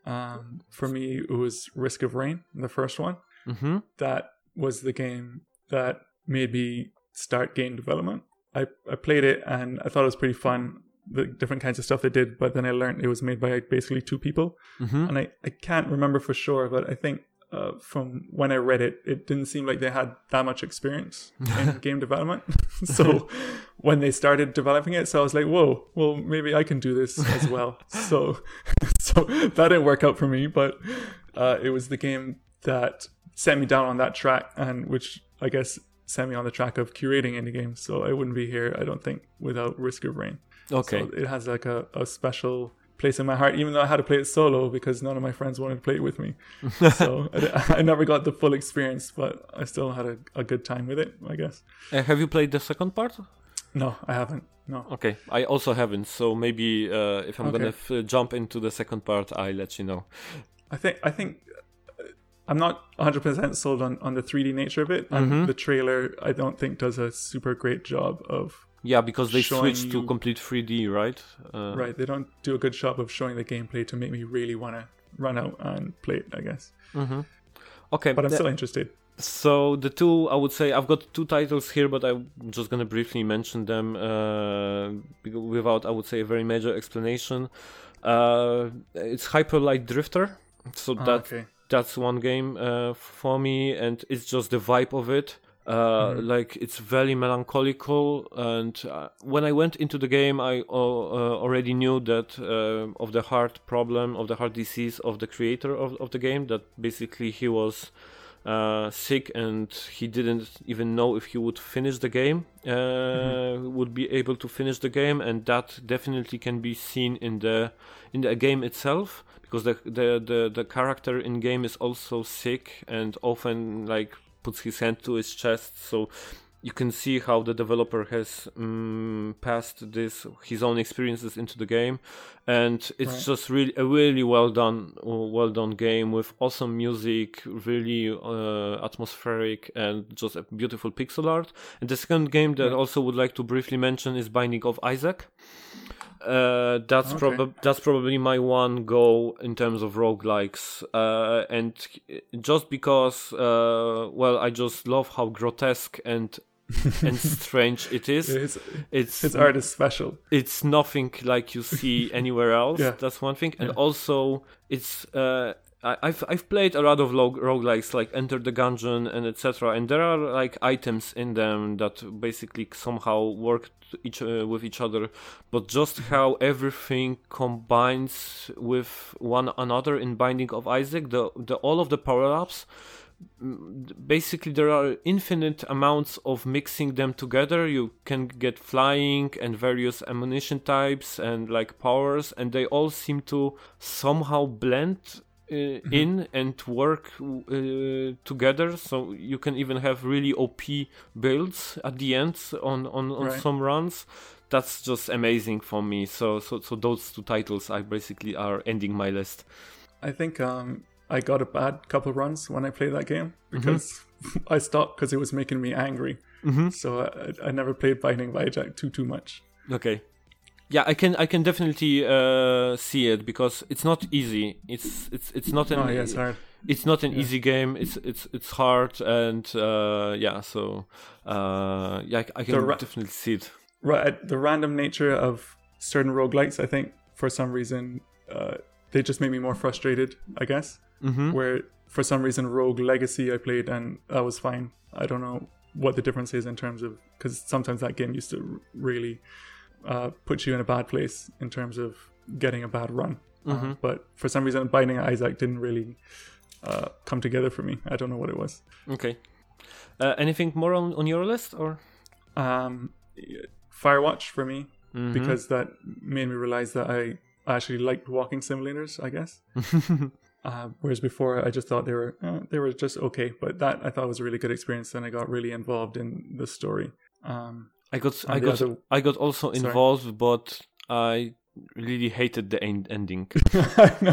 Um, for me, it was Risk of Rain, the first one. Mm-hmm. That was the game that made me start game development. I, I played it and I thought it was pretty fun, the different kinds of stuff they did, but then I learned it was made by basically two people. Mm-hmm. And I, I can't remember for sure, but I think uh, from when I read it, it didn't seem like they had that much experience in game development. So when they started developing it, so I was like, whoa, well, maybe I can do this as well. so so that didn't work out for me, but uh, it was the game that sent me down on that track, and which I guess sent me on the track of curating indie games. So I wouldn't be here, I don't think, without Risk of Rain. Okay. So it has like a, a special place in my heart, even though I had to play it solo because none of my friends wanted to play it with me. So I, I never got the full experience, but I still had a, a good time with it, I guess. Uh, have you played the second part? No, I haven't. No. Okay, I also haven't. So maybe uh, if I'm Okay. gonna f- jump into the second part, I'll let you know. I think I think uh, I'm not one hundred percent sold on, on the three D nature of it, and Mhm. the trailer I don't think does a super great job of Yeah, because they Showing switched to you- complete three D, right? Uh, right. They don't do a good job of showing the gameplay to make me really want to run out and play it, I guess. Mm-hmm. Okay, But I'm the- still interested. so the two, I would say, I've got two titles here, but I'm just gonna briefly mention them uh, bec- without, I would say, a very major explanation. Uh, it's Hyper Light Drifter, so Ah, that okay. that's one game uh, for me, and it's just the vibe of it. Uh, Mhm. Like it's very melancholical, and uh, when I went into the game, I uh, uh, already knew that uh, of the heart problem, of the heart disease of the creator of, of the game. That basically he was uh, sick and he didn't even know if he would finish the game, uh, Mhm. would be able to finish the game, and that definitely can be seen in the in the game itself, because the the the, the character in game is also sick and often like puts his hand to his chest, so you can see how the developer has um, passed this his own experiences into the game, and it's Right. just really a really well done well done game with awesome music, really uh, atmospheric, and just a beautiful pixel art. And the second game that I Yeah. also would like to briefly mention is Binding of Isaac. Uh, that's Okay. probably that's probably my one go in terms of roguelikes, uh, and just because uh, well, I just love how grotesque and and strange it is. His, It's his art is special. it's nothing like you see anywhere else. Yeah. That's one thing, and Yeah. also it's uh, I, I've I've played a lot of log- roguelikes like Enter the Gungeon and et cetera. And there are like items in them that basically somehow work each uh, with each other, but just how everything combines with one another in Binding of Isaac, the the all of the power ups. Basically, there are infinite amounts of mixing them together. You can get flying and various ammunition types and like powers, and they all seem to somehow blend uh, Mm-hmm. in and work uh, together. So you can even have really O P builds at the end on on, on Right. some runs. That's just amazing for me. So so so those two titles, I basically are ending my list. I think um, I got a bad couple runs when I played that game because I stopped because it was making me angry. Mm-hmm. So I, I never played Binding of Isaac too too much. Okay. Yeah, I can I can definitely uh, see it, because it's not easy. It's it's it's not an Oh yeah, it's hard. it's not an Yeah. easy game. It's it's it's hard, and uh, yeah. So uh, yeah, I, I can The ra- definitely see it. Right, the random nature of certain roguelikes, I think for some reason uh, they just made me more frustrated, I guess. Mm-hmm. Where for some reason Rogue Legacy I played and that was fine. I don't know what the difference is in terms of, because sometimes that game used to r- really uh, put you in a bad place in terms of getting a bad run. Mhm. Uh, but for some reason Binding of Isaac didn't really uh, come together for me. I don't know what it was. Okay. Uh, anything more on, on your list, or? Um, Firewatch for me, Mhm. because that made me realize that I actually liked walking simulators, I guess. Uh, whereas before, I just thought they were uh, they were just okay. But that I thought was a really good experience, and I got really involved in the story. Um, I got and I the got other- I got also Sorry. involved, but I really hated the end- ending. I know.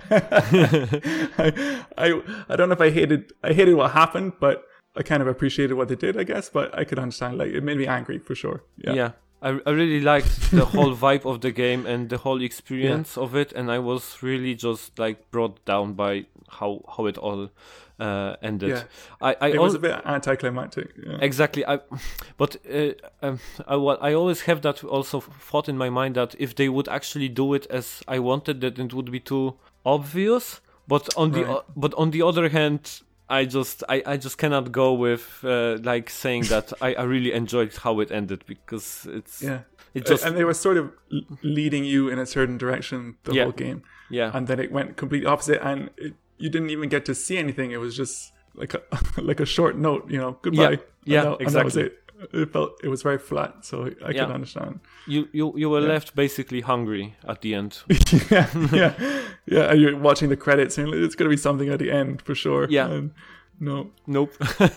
I, I I don't know if I hated I hated what happened, but I kind of appreciated what they did, I guess. But I could understand, like, it made me angry for sure. Yeah. Yeah. I, I really liked the whole vibe of the game and the whole experience of it, and I was really just like brought down by how how it all uh, ended. Yeah. I I It al- was a bit anticlimactic. Yeah. Exactly. I, but uh, um, I, wa- I always have that also thought in my mind that if they would actually do it as I wanted, that it would be too obvious. But on the Right. o- but on the other hand, I just I, I just cannot go with uh, like saying that I, I really enjoyed how it ended, because it's Yeah. it just And they were sort of l- leading you in a certain direction the Yeah. whole game. yeah And then it went complete opposite, and it, you didn't even get to see anything. It was just like a like a short note, you know, goodbye. Yeah, And yeah, that- and that was exactly. it. It felt it was very flat, so I Yeah. can understand. you you you were Yeah. left basically hungry at the end. yeah, yeah, yeah. And you're watching the credits, and it's going to be something at the end for sure. Yeah. And no, Nope.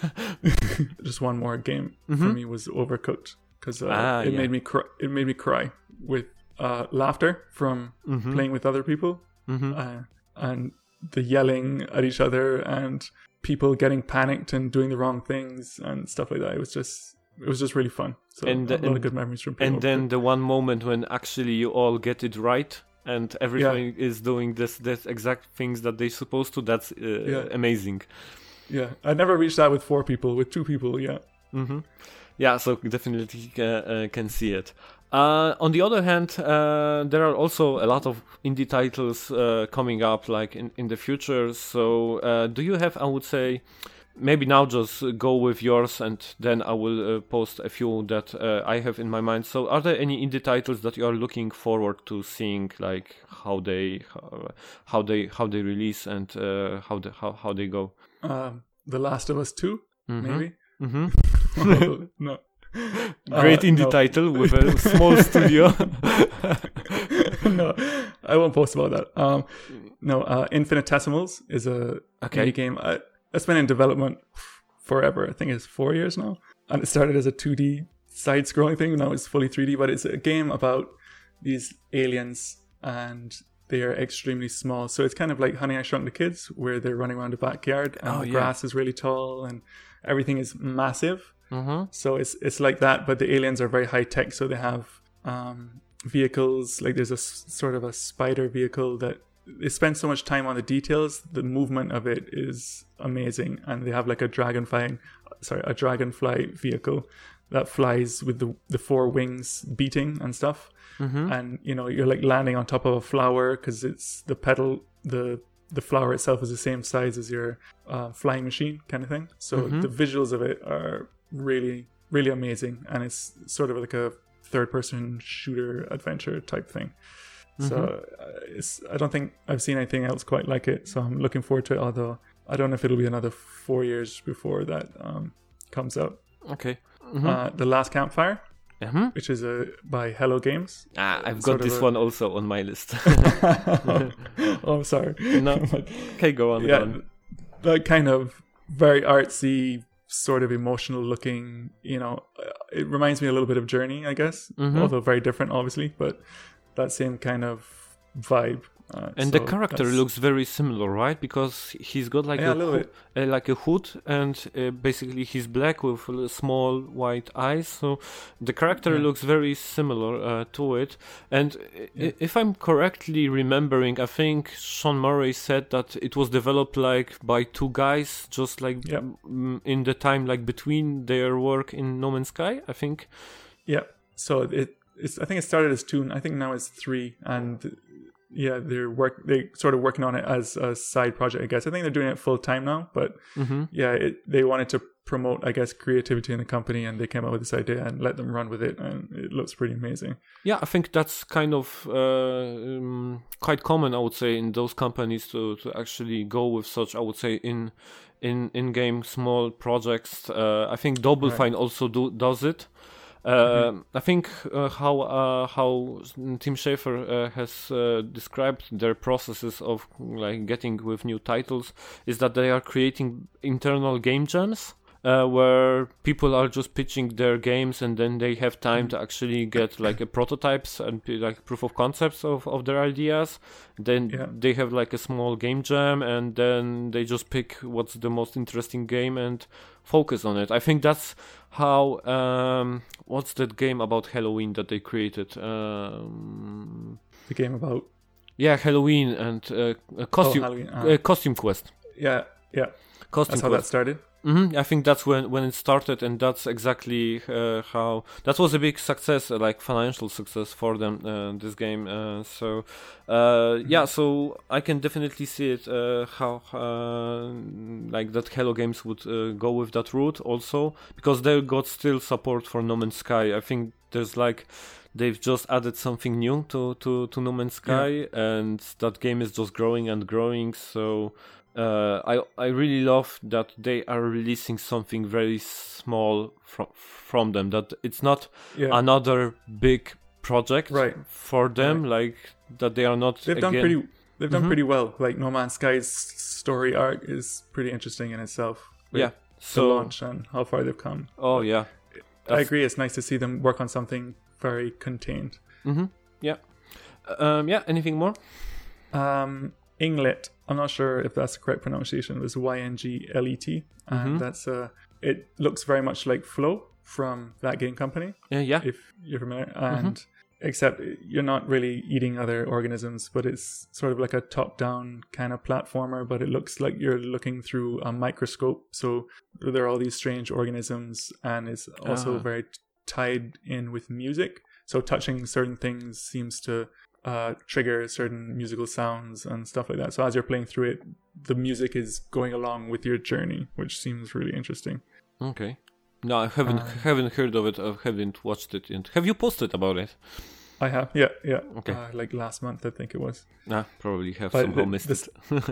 just one more game for Mhm. me was Overcooked, because uh, Ah, it yeah. made me cry. It made me cry with uh, laughter from Mhm. playing with other people, Mhm. uh, and the yelling at each other, and people getting panicked and doing the wrong things and stuff like that. It was just, it was just really fun. So And a the- lot and- of good memories from playing. And then the one moment when actually you all get it right and everything is doing this this exact things that they're supposed to, that's uh, Yeah. amazing. yeah, I never reached that with four people. With two people, yeah. hmm Yeah, so definitely uh, uh, can see it. Uh, on the other hand, uh, there are also a lot of indie titles uh, coming up, like in, in the future. So, uh, do you have, I would say, maybe now just go with yours, and then I will uh, post a few that uh, I have in my mind. So, are there any indie titles that you are looking forward to seeing, like how they how, how they how they release and uh, how the, how how they go? Um, The Last of Us Two, Mhm. maybe. hmm no. Great Uh, indie no. title with a small studio. no, I won't post about that. Um, no, uh, Infinitesimals is a Okay. indie game. Uh, it's been in development forever. I think it's four years now, and it started as a two D side-scrolling thing. Now it's fully three D, but it's a game about these aliens, and they are extremely small. So it's kind of like Honey, I Shrunk the Kids, where they're running around the backyard, and Oh, the yeah. grass is really tall, and everything is massive. hmm So it's it's like that, but the aliens are very high tech. So they have um, vehicles. Like there's a s- sort of a spider vehicle that they spend so much time on the details. The movement of it is amazing, and they have like a dragonfly, sorry, a dragonfly vehicle that flies with the the four wings beating and stuff. hmm And you know you're like landing on top of a flower because it's the petal the the flower itself is the same size as your uh, flying machine kind of thing. So Mhm. the visuals of it are really really amazing, and it's sort of like a third person shooter adventure type thing. So uh, it's I don't think I've seen anything else quite like it. So I'm looking forward to it. Although I don't know if it'll be another four years before that um, comes out. Okay. Mhm. Uh, the Last Campfire, Mhm. which is a by Hello Games. Ah, I've got sort of this a- one also on my list. oh, I'm sorry. No. Okay, go on. Go yeah, on. that kind of very artsy, sort of emotional looking. You know, uh, it reminds me a little bit of Journey, I guess, Mhm. although very different, obviously. But that same kind of vibe. Uh, And the so character that's- looks very similar, right? Because he's got like Yeah, a, a little hoo- bit. uh, like a hood, and uh, basically he's black with uh, small white eyes. So the character Yeah. looks very similar uh, to it. And i- Yeah. if I'm correctly remembering, I think Sean Murray said that it was developed like by two guys, just like Yeah. mm, in the time like between their work in No Man's Sky. I think. Yeah. So it it's I think it started as two. I think now it's three, and yeah, they're work they sort of working on it as a side project. I guess I think they're doing it full time now, but Mm-hmm. yeah, it, they wanted to promote, I guess, creativity in the company, and they came up with this idea and let them run with it, and it looks pretty amazing. Yeah, I think that's kind of uh, um, quite common, I would say, in those companies to, to actually go with such, I would say, in in in-game small projects. Uh, I think Double Right. Fine also do, does it. Uh, Mm-hmm. I think uh, how uh, how Tim Schafer uh, has uh, described their processes of like getting with new titles is that they are creating internal game jams. Uh, where people are just pitching their games and then they have time to actually get like a prototypes and p- like proof of concepts of, of their ideas. Then Yeah. they have like a small game jam and then they just pick what's the most interesting game and focus on it. I think that's how um, what's that game about Halloween that they created? Um, The game about yeah, Halloween and uh, a oh, costume Halloween. Uh, uh, costume quest. yeah, yeah. Costume That's how quest. that started. hmm I think that's when, when it started, and that's exactly uh, how that was a big success, uh, like financial success for them. Uh, this game, uh, so uh, yeah, so I can definitely see it uh, how uh, like that Hello Games would uh, go with that route also, because they got still support for No Man's Sky. I think there's like they've just added something new to to to No Man's Sky, and that game is just growing and growing. So. Uh, I I really love that they are releasing something very small from from them. That it's not Yeah. another big project Right. for them. Like that they are not. They've again, done pretty. They've done Mhm. pretty well. Like No Man's Sky's story arc is pretty interesting in itself. with Yeah. The So launch and how far they've come. oh yeah. I That's- agree. It's nice to see them work on something very contained. Mm-hmm. Yeah. Um. Yeah. Anything more? Um, Inglet. I'm not sure if that's the correct pronunciation. It was Y N G L E T, and Mhm. that's uh, it looks very much like Flow from that game company, Yeah. Yeah. if you're familiar. And except you're not really eating other organisms, but it's sort of like a top-down kind of platformer. But it looks like you're looking through a microscope. So there are all these strange organisms, and it's also Ah. very t- tied in with music. So touching certain things seems to uh, trigger certain musical sounds and stuff like that. So as you're playing through it, the music is going along with your journey, which seems really interesting. Okay. No, I haven't Uh, haven't heard of it. I haven't watched it. And have you posted about it? I have, yeah, yeah. Okay. Uh, like last month, I think it was. Nah, probably have But somehow the- missed this-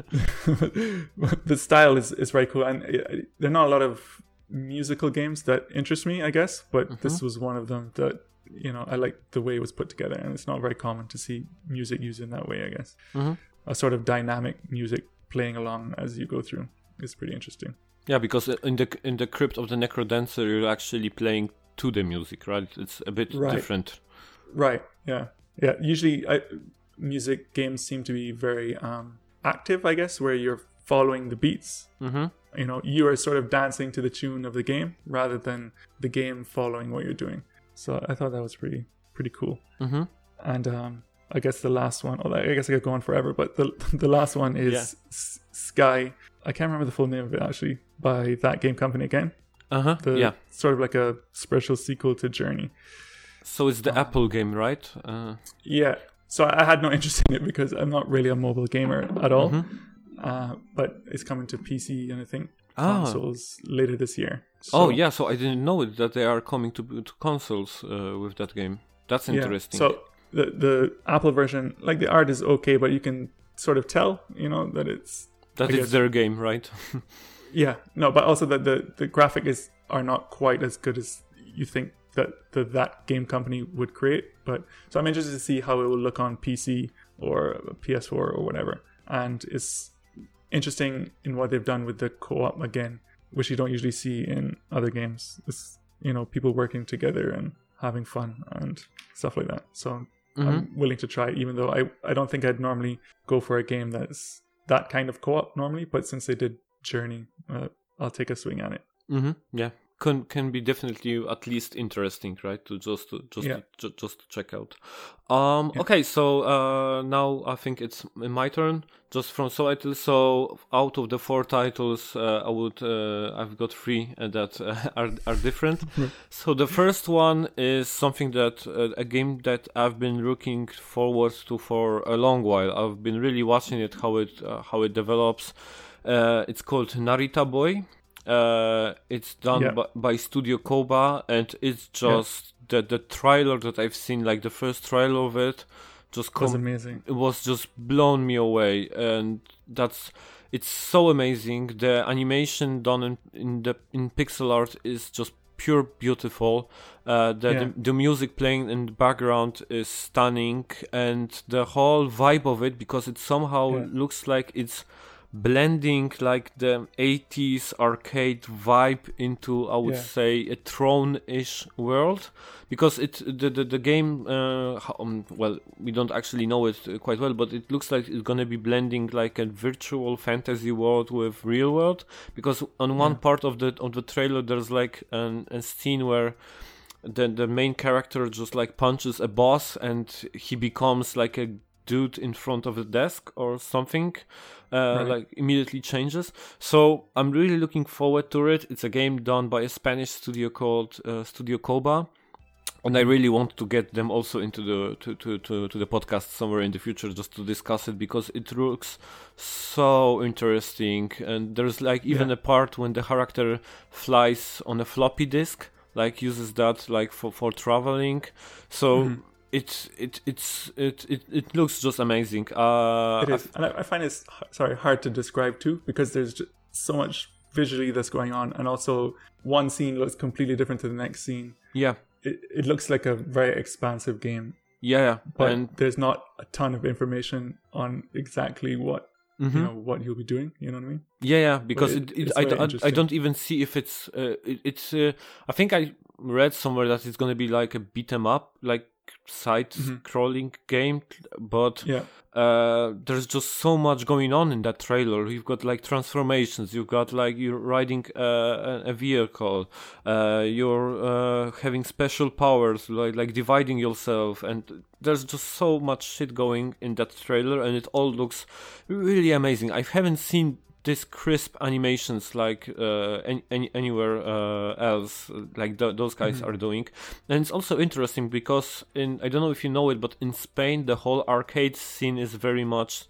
it. The style is, is very cool, and uh, there are not a lot of musical games that interest me, I guess. But this was one of them that, you know, I like the way it was put together, and it's not very common to see music used in that way, I guess. Mhm. A sort of dynamic music playing along as you go through is pretty interesting. Yeah, because in the in the Crypt of the Necrodancer, you're actually playing to the music, right? It's a bit Right. different. Right. Yeah. Yeah. Usually, I, music games seem to be very um, active, I guess, where you're following the beats. Mm-hmm. You know, you are sort of dancing to the tune of the game rather than the game following what you're doing. So I thought that was pretty pretty cool. Mm-hmm. And um, I guess the last one, oh, I guess I could go on forever, but the the last one is Yeah. S- Sky. I can't remember the full name of it actually, by that game company again. Uh-huh. The Yeah. sort of like a spiritual sequel to Journey. So it's the Um, Apple game, right? Uh, Yeah. So I had no interest in it because I'm not really a mobile gamer at all. mhm. Uh, but it's coming to P C and I think Ah. consoles later this year. So, Oh, yeah. So I didn't know it that they are coming to to consoles uh, with that game. That's yeah. interesting. So the the Apple version, like the art is okay, but you can sort of tell, you know, that it's that I is guess- their game, right? yeah. No, but also that the the graphic is are not quite as good as you think that the, that game company would create. But so I'm interested to see how it will look on P C or P S four or whatever. And it's interesting in what they've done with the co-op again, which you don't usually see in other games. It's, you know, people working together and having fun and stuff like that. So Mhm. I'm willing to try it, even though I, I don't think I'd normally go for a game that's that kind of co-op normally. But since they did Journey, uh, I'll take a swing at it. Mm-hmm. Yeah, can can be definitely at least interesting, right? To just to, just Yeah. to, ju- just to check out. Um. Yeah. Okay, so uh, now I think it's my turn. Just from so title. So out of the four titles, uh, I would uh, I've got three uh, that uh, are are different. So the first one is something that uh, a game that I've been looking forward to for a long while. I've been really watching it how it uh, how it develops. Uh, it's called Narita Boy. Uh, it's done Yeah. by, by Studio Koba, and it's just the the trailer that I've seen, like the first trailer of it, just It was com- amazing. it was just blown me away, and that's it's so amazing. The animation done in, in the in pixel art is just pure beautiful. Uh, the, Yeah. the the music playing in the background is stunning, and the whole vibe of it, because it somehow Yeah. looks like it's blending like the eighties arcade vibe into, I would Yeah. say, a Throne-ish world, because it the the, the game uh, ho- um, well, we don't actually know it uh, quite well, but it looks like it's gonna be blending like a virtual fantasy world with real world, because on one Yeah. part of the of the trailer there's like an, a scene where the the main character just like punches a boss and he becomes like a dude in front of a desk or something, uh, Right. like immediately changes. So I'm really looking forward to it. It's a game done by a Spanish studio called uh, Studio Koba, and I really want to get them also into the to, to, to, to the podcast somewhere in the future, just to discuss it, because it looks so interesting. And there's like even Yeah. a part when the character flies on a floppy disk, like uses that like for, for traveling. So Mhm. it it it's it, it it looks just amazing. Uh, It is, and I, I find it's h- sorry hard to describe too, because there's just so much visually that's going on, and also one scene looks completely different to the next scene. yeah, It, it looks like a very expansive game, yeah, yeah, but and there's not a ton of information on exactly what mhm. you know what you'll be doing. You know what I mean? Yeah, yeah, because it- it, it, it's I, very I, I interesting. don't even see if it's uh, it, it's uh, I think I read somewhere that it's gonna be like a beat 'em up, like side scrolling game, but Yeah, uh there's just so much going on in that trailer. You've got like transformations, you've got like you're riding uh, a, a vehicle, uh you're uh having special powers, like like dividing yourself, and there's just so much shit going in that trailer, and it all looks really amazing. I haven't seen this crisp animations like uh, any, any, anywhere uh, else, like th- those guys Mm-hmm. are doing. And it's also interesting because in, I don't know if you know it, but in Spain the whole arcade scene is very much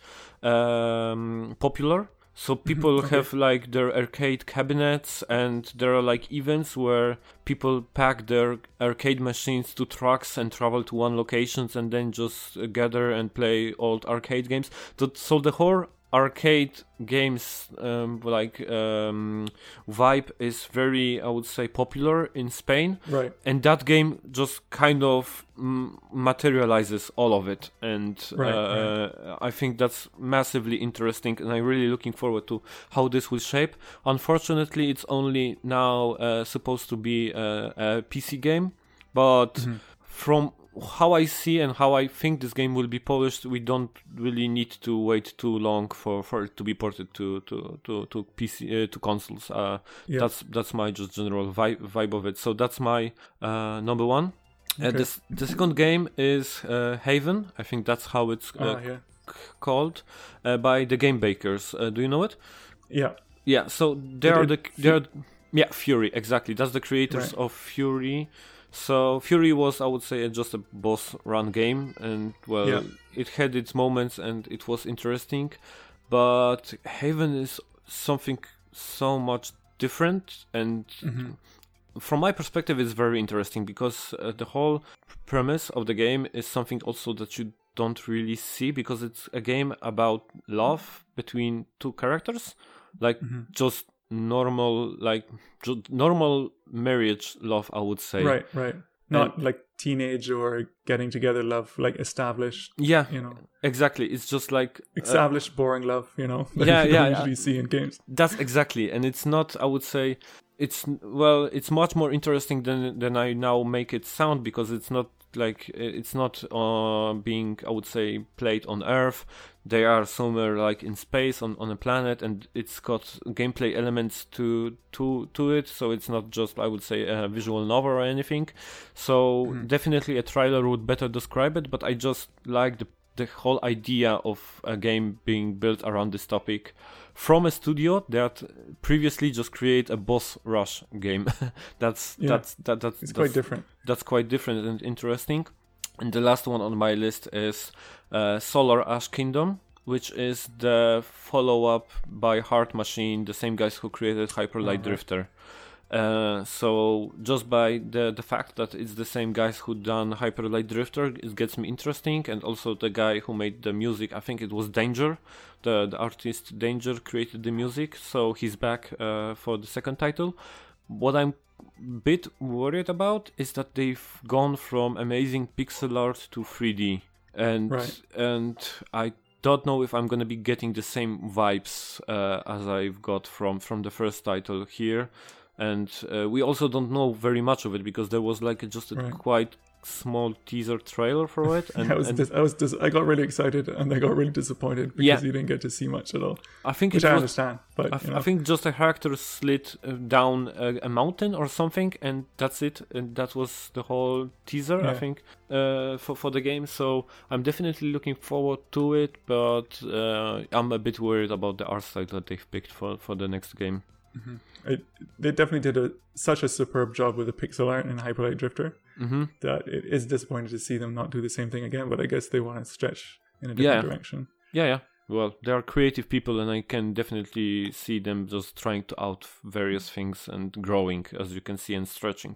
um, popular. So people Okay. have like their arcade cabinets, and there are like events where people pack their arcade machines to trucks and travel to one locations and then just uh, gather and play old arcade games. Th- So the whole arcade games um, like um, vibe is very, I would say, popular in Spain, right. and that game just kind of mm, materializes all of it, and Right, uh, I think that's massively interesting, and I'm really looking forward to how this will shape. Unfortunately, it's only now uh, supposed to be a, a P C game, but Mm-hmm. from how I see and how I think this game will be polished, we don't really need to wait too long for, for it to be ported to to to, to P C uh, to consoles. Uh, Yeah. That's that's my just general vibe vibe of it. So that's my uh, number one. Uh, Okay. the s- the second game is uh, Haven. I think that's how it's uh, Ah, yeah, c- called, uh, by the Game Bakers. Uh, do you know it? yeah, Yeah. So they It- are it- the they are yeah Fury, exactly. That's the creators Right. of Fury. So Fury was, I would say, just a boss run game, and well, Yeah. it had its moments and it was interesting, but Haven is something so much different, and Mm-hmm. from my perspective it's very interesting, because uh, the whole premise of the game is something also that you don't really see, because it's a game about love between two characters, like Mm-hmm. just normal, like ju- normal marriage love, I would say. right, right. Not like teenage or getting together love, like established, Yeah, you know, exactly. It's just like uh, established boring love, you know, that yeah, you yeah, don't yeah. usually see in games. that's exactly, and it's not, I would say, it's well, it's much more interesting than than I now make it sound, because it's not like it's not uh, being, I would say, played on Earth. They are somewhere like in space on, on a planet, and it's got gameplay elements to to to it. So it's not just, I would say, a visual novel or anything. So definitely a trailer would better describe it. But I just like the the whole idea of a game being built around this topic from a studio that previously just create a boss rush game. that's Yeah. that's that that's It's that's, quite different. that's quite different and interesting. And the last one on my list is uh, Solar Ash Kingdom, which is the follow-up by Heart Machine, the same guys who created Hyper Light Oh, right. Drifter. Uh, so just by the the fact that it's the same guys who done Hyper Light Drifter, it gets me interesting, and also the guy who made the music, I think it was Danger, the the artist Danger created the music, so he's back uh, for the second title. What I'm a bit worried about is that they've gone from amazing pixel art to three D, and Right. and I don't know if I'm gonna be getting the same vibes uh, as I've got from from the first title here. And uh, we also don't know very much of it because there was like a, just a Right. quite small teaser trailer for it. And, I was, and dis- I was, dis- I got really excited and I got really disappointed because Yeah. you didn't get to see much at all, I think which it I was, understand. But I, f- you know, I think just a character slid uh, down a, a mountain or something, and that's it. And that was the whole teaser, I Yeah. think, uh, for for the game. So I'm definitely looking forward to it, but uh, I'm a bit worried about the art style that they've picked for for the next game. it, they definitely did a, such a superb job with the pixel art in Hyper Light Drifter Mm-hmm. that it is disappointing to see them not do the same thing again. But I guess they want to stretch in a different Yeah. direction. Yeah, yeah. Well, they are creative people, and I can definitely see them just trying to out various things and growing, as you can see, and stretching.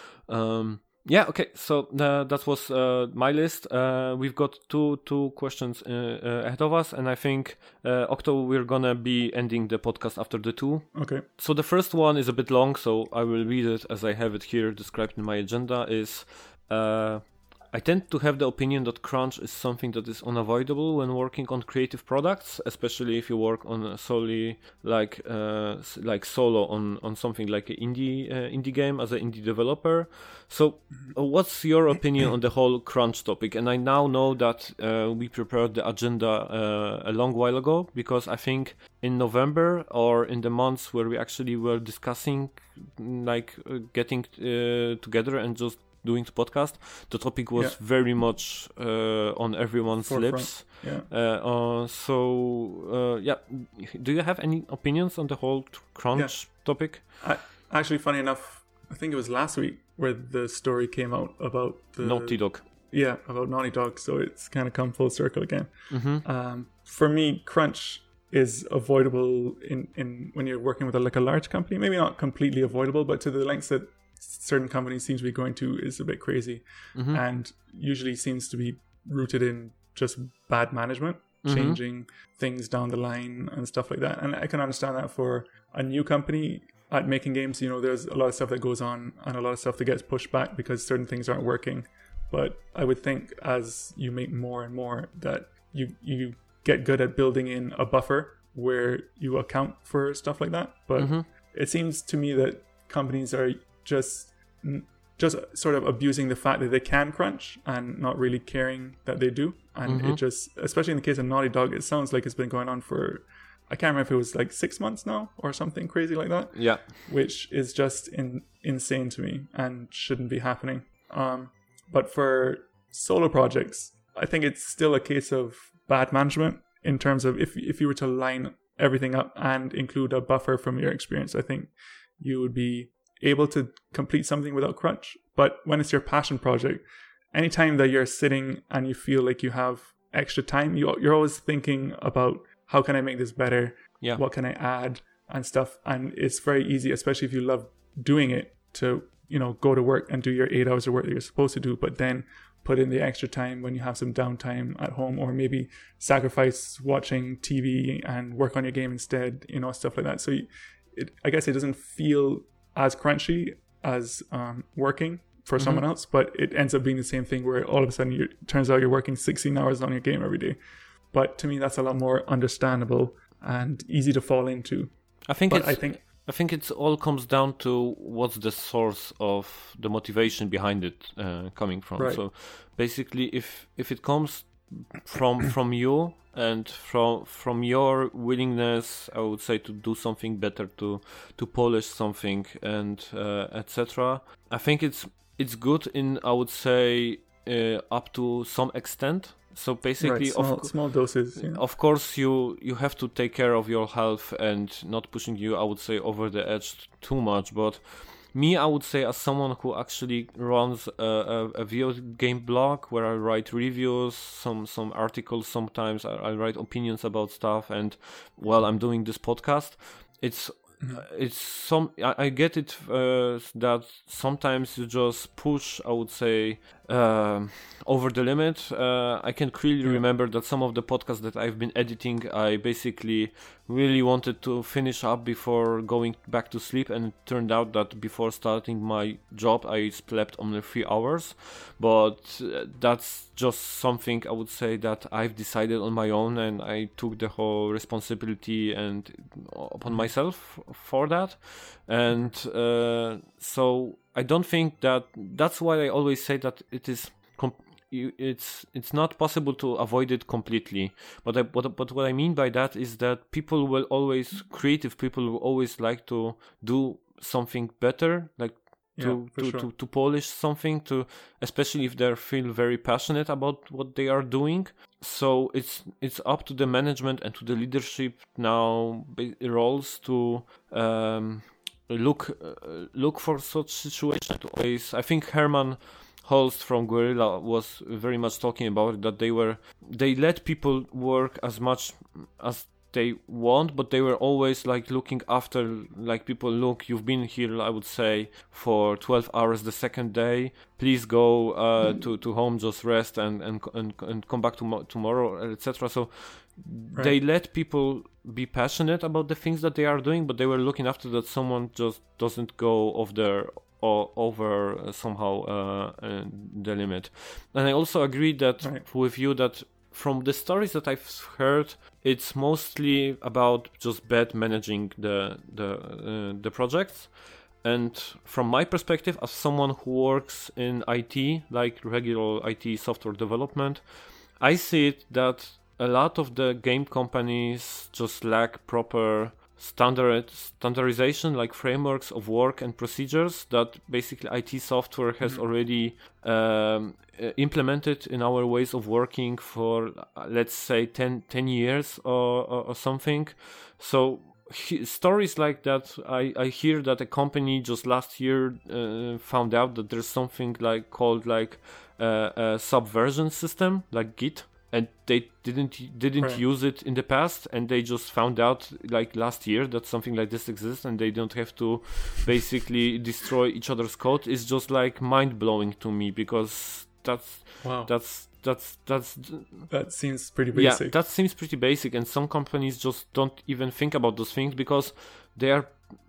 Um, yeah, okay. So uh, that was uh, my list. Uh, we've got two two questions uh, uh, ahead of us, and I think uh, Octo, we're gonna be ending the podcast after the two. Okay. So the first one is a bit long, so I will read it as I have it here described in my agenda. Is uh, I tend to have the opinion that crunch is something that is unavoidable when working on creative products, especially if you work on a solely like uh, s- like solo on, on something like an indie uh, indie game as an indie developer. So, uh, what's your opinion on the whole crunch topic? And I now know that uh, we prepared the agenda uh, a long while ago because I think in November or in the months where we actually were discussing like uh, getting uh, together and just doing the podcast, the topic was Yeah. very much uh, on everyone's Forefront. lips. Yeah. Uh, uh, so, uh, yeah, do you have any opinions on the whole t- crunch topic? I, actually, funny enough, I think it was last week where the story came out about the Naughty Dog. Yeah, about Naughty Dog. So it's kind of come full circle again. Mm-hmm. Um, for me, crunch is avoidable in, in when you're working with a, like a large company. Maybe not completely avoidable, but to the lengths that certain companies seem to be going to is a bit crazy, Mm-hmm. and usually seems to be rooted in just bad management, Mhm. changing things down the line and stuff like that. And I can understand that for a new company at making games. You know, there's a lot of stuff that goes on and a lot of stuff that gets pushed back because certain things aren't working. But I would think as you make more and more that you you get good at building in a buffer where you account for stuff like that. But Mm-hmm. it seems to me that companies are just just sort of abusing the fact that they can crunch and not really caring that they do. And Mhm. it just, especially in the case of Naughty Dog, it sounds like it's been going on for, I can't remember if it was like six months now or something crazy like that, Yeah. which is just in, insane to me and shouldn't be happening. Um, but for solo projects, I think it's still a case of bad management in terms of if if you were to line everything up and include a buffer from your experience, I think you would be able to complete something without crunch. But when it's your passion project, anytime that you're sitting and you feel like you have extra time, you, you're always thinking about how can I make this better? Yeah. What can I add and stuff? And it's very easy, especially if you love doing it, to, you know, go to work and do your eight hours of work that you're supposed to do, but then put in the extra time when you have some downtime at home, or maybe sacrifice watching T V and work on your game instead, you know, stuff like that. So you, it, I guess it doesn't feel as crunchy as um, working for someone else, but it ends up being the same thing where all of a sudden you, it turns out you're working sixteen hours on your game every day. But to me, that's a lot more understandable and easy to fall into. I think But it's I think, I think it's all comes down to what's the source of the motivation behind it uh, coming from. Right. So basically, if if it comes from from you and from from your willingness, I would say, to do something better, to to polish something, and uh, et cetera. I think it's it's good in, I would say, uh, up to some extent. So basically, right, small, of, small doses. Yeah. of course, you you have to take care of your health and not pushing you, I would say, over the edge too much. But me, I would say, as someone who actually runs a, a, a video game blog where I write reviews, some some articles, sometimes I, I write opinions about stuff, and while I'm doing this podcast, it's mm-hmm. it's some I, I get it uh, that sometimes you just push, I would say, uh, over the limit. Uh, I can clearly yeah. remember that some of the podcasts that I've been editing, I basically really wanted to finish up before going back to sleep, and it turned out that before starting my job I slept only three hours. But uh, that's just something I would say that I've decided on my own, and I took the whole responsibility and upon myself for that. And uh, so I don't think that that's why I always say that it is comp- it's it's not possible to avoid it completely. But I, but, but what I mean by that is that people will always, creative people will always like to do something better, like to yeah, to, sure. to to polish something, to especially if they feel very passionate about what they are doing. So it's it's up to the management and to the leadership now roles to um, look uh, look for such situations. Always, I think Herman Holst from Guerrilla was very much talking about it, that they were they let people work as much as they want, but they were always like looking after, like, people, look, you've been here, I would say, for twelve hours the second day, please go uh, to, to home, just rest and and and, and come back to tomorrow, etc. So right. they let people be passionate about the things that they are doing, but they were looking after that someone just doesn't go off their or over uh, somehow uh, uh, the limit. And I also agree that right. with you that from the stories that I've heard, it's mostly about just bad managing the the uh, the projects. And from my perspective, as someone who works in I T, like regular I T software development, I see it that a lot of the game companies just lack proper standard standardization, like frameworks of work and procedures that basically I T software has mm-hmm. already um, implemented in our ways of working for, uh, let's say, ten, ten years or, or, or something. So he, stories like that, I, I hear that a company just last year uh, found out that there's something like called like uh, a subversion system, like Git. And they didn't didn't right. use it in the past, and they just found out like last year that something like this exists, and they don't have to basically destroy each other's code. It's just like mind blowing to me, because that's wow. that's that's that's that seems pretty basic. Yeah, that seems pretty basic, and some companies just don't even think about those things because they are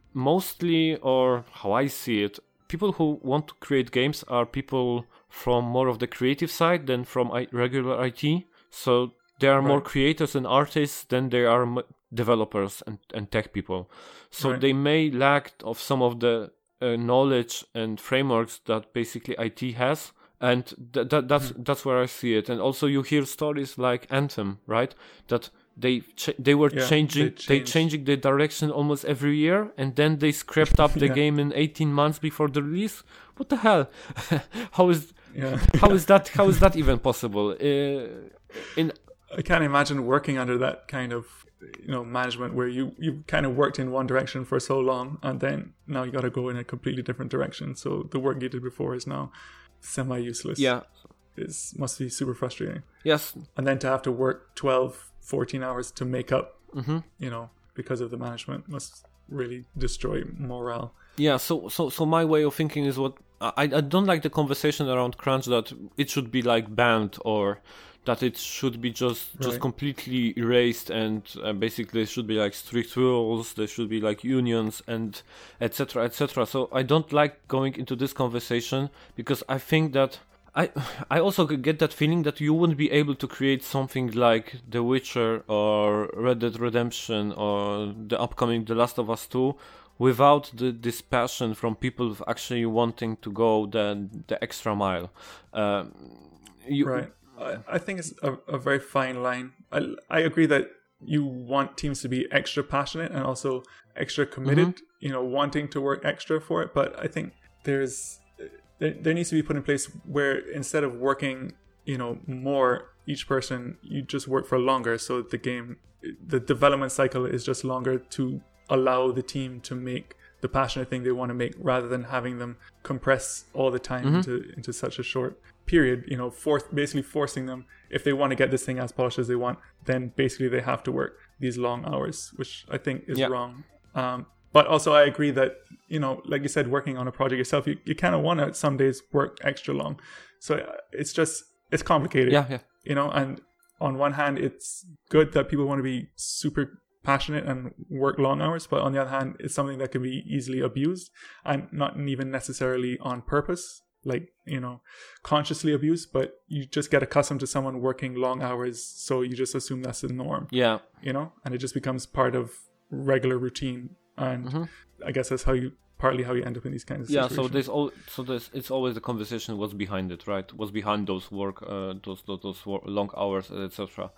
mostly, or how I see it, people who want to create games are people from more of the creative side than from regular I T. So there are right. more creators and artists than there are developers and, and tech people. So right. they may lack of some of the uh, knowledge and frameworks that basically I T has. And th- th- that's mm. that's where I see it. And also you hear stories like Anthem, right? That they ch- they were yeah, changing they, they changing the direction almost every year, and then they scrapped up the yeah. game in eighteen months before the release. What the hell? how is yeah. how is that how is that even possible? Uh, in I can't imagine working under that kind of, you know, management where you you kind of worked in one direction for so long, and then now you got to go in a completely different direction. So the work you did before is now semi-useless. Yeah, it must be super frustrating. Yes, and then to have to work twelve, fourteen hours to make up, mm-hmm. you know, because of the management must really destroy morale. Yeah, so so so my way of thinking is what I I don't like the conversation around crunch that it should be like banned or that it should be just just right. completely erased, and uh, basically it should be like strict rules, there should be like unions and etc etc. So I don't like going into this conversation because I think that I I also get that feeling that you wouldn't be able to create something like The Witcher or Red Dead Redemption or the upcoming The Last of Us two without the, this passion from people actually wanting to go the the extra mile. Uh, you, right. I, I think it's a, a very fine line. I I agree that you want teams to be extra passionate and also extra committed. Mm-hmm. You know, wanting to work extra for it. But I think there's There, there needs to be put in place where instead of working, you know, more each person, you just work for longer. So the game, the development cycle is just longer to allow the team to make the passionate thing they want to make, rather than having them compress all the time mm-hmm. into into such a short period. You know, force basically forcing them, if they want to get this thing as polished as they want, then basically they have to work these long hours, which I think is yeah. wrong. Um, but also I agree that, you know, like you said, working on a project yourself, you, you kind of want to some days work extra long. So it's just, it's complicated. Yeah, yeah. You know, and on one hand, it's good that people want to be super passionate and work long hours, but on the other hand, it's something that can be easily abused, and not even necessarily on purpose, like, you know, consciously abused, but you just get accustomed to someone working long hours, so you just assume that's the norm. Yeah. You know, and it just becomes part of regular routine, and mm-hmm. I guess that's how you partly how you end up in these kinds of situations. Yeah, so there's all so there's it's always the conversation what's behind it, right? What's behind those work, uh, those those, those work, long hours, et cetera.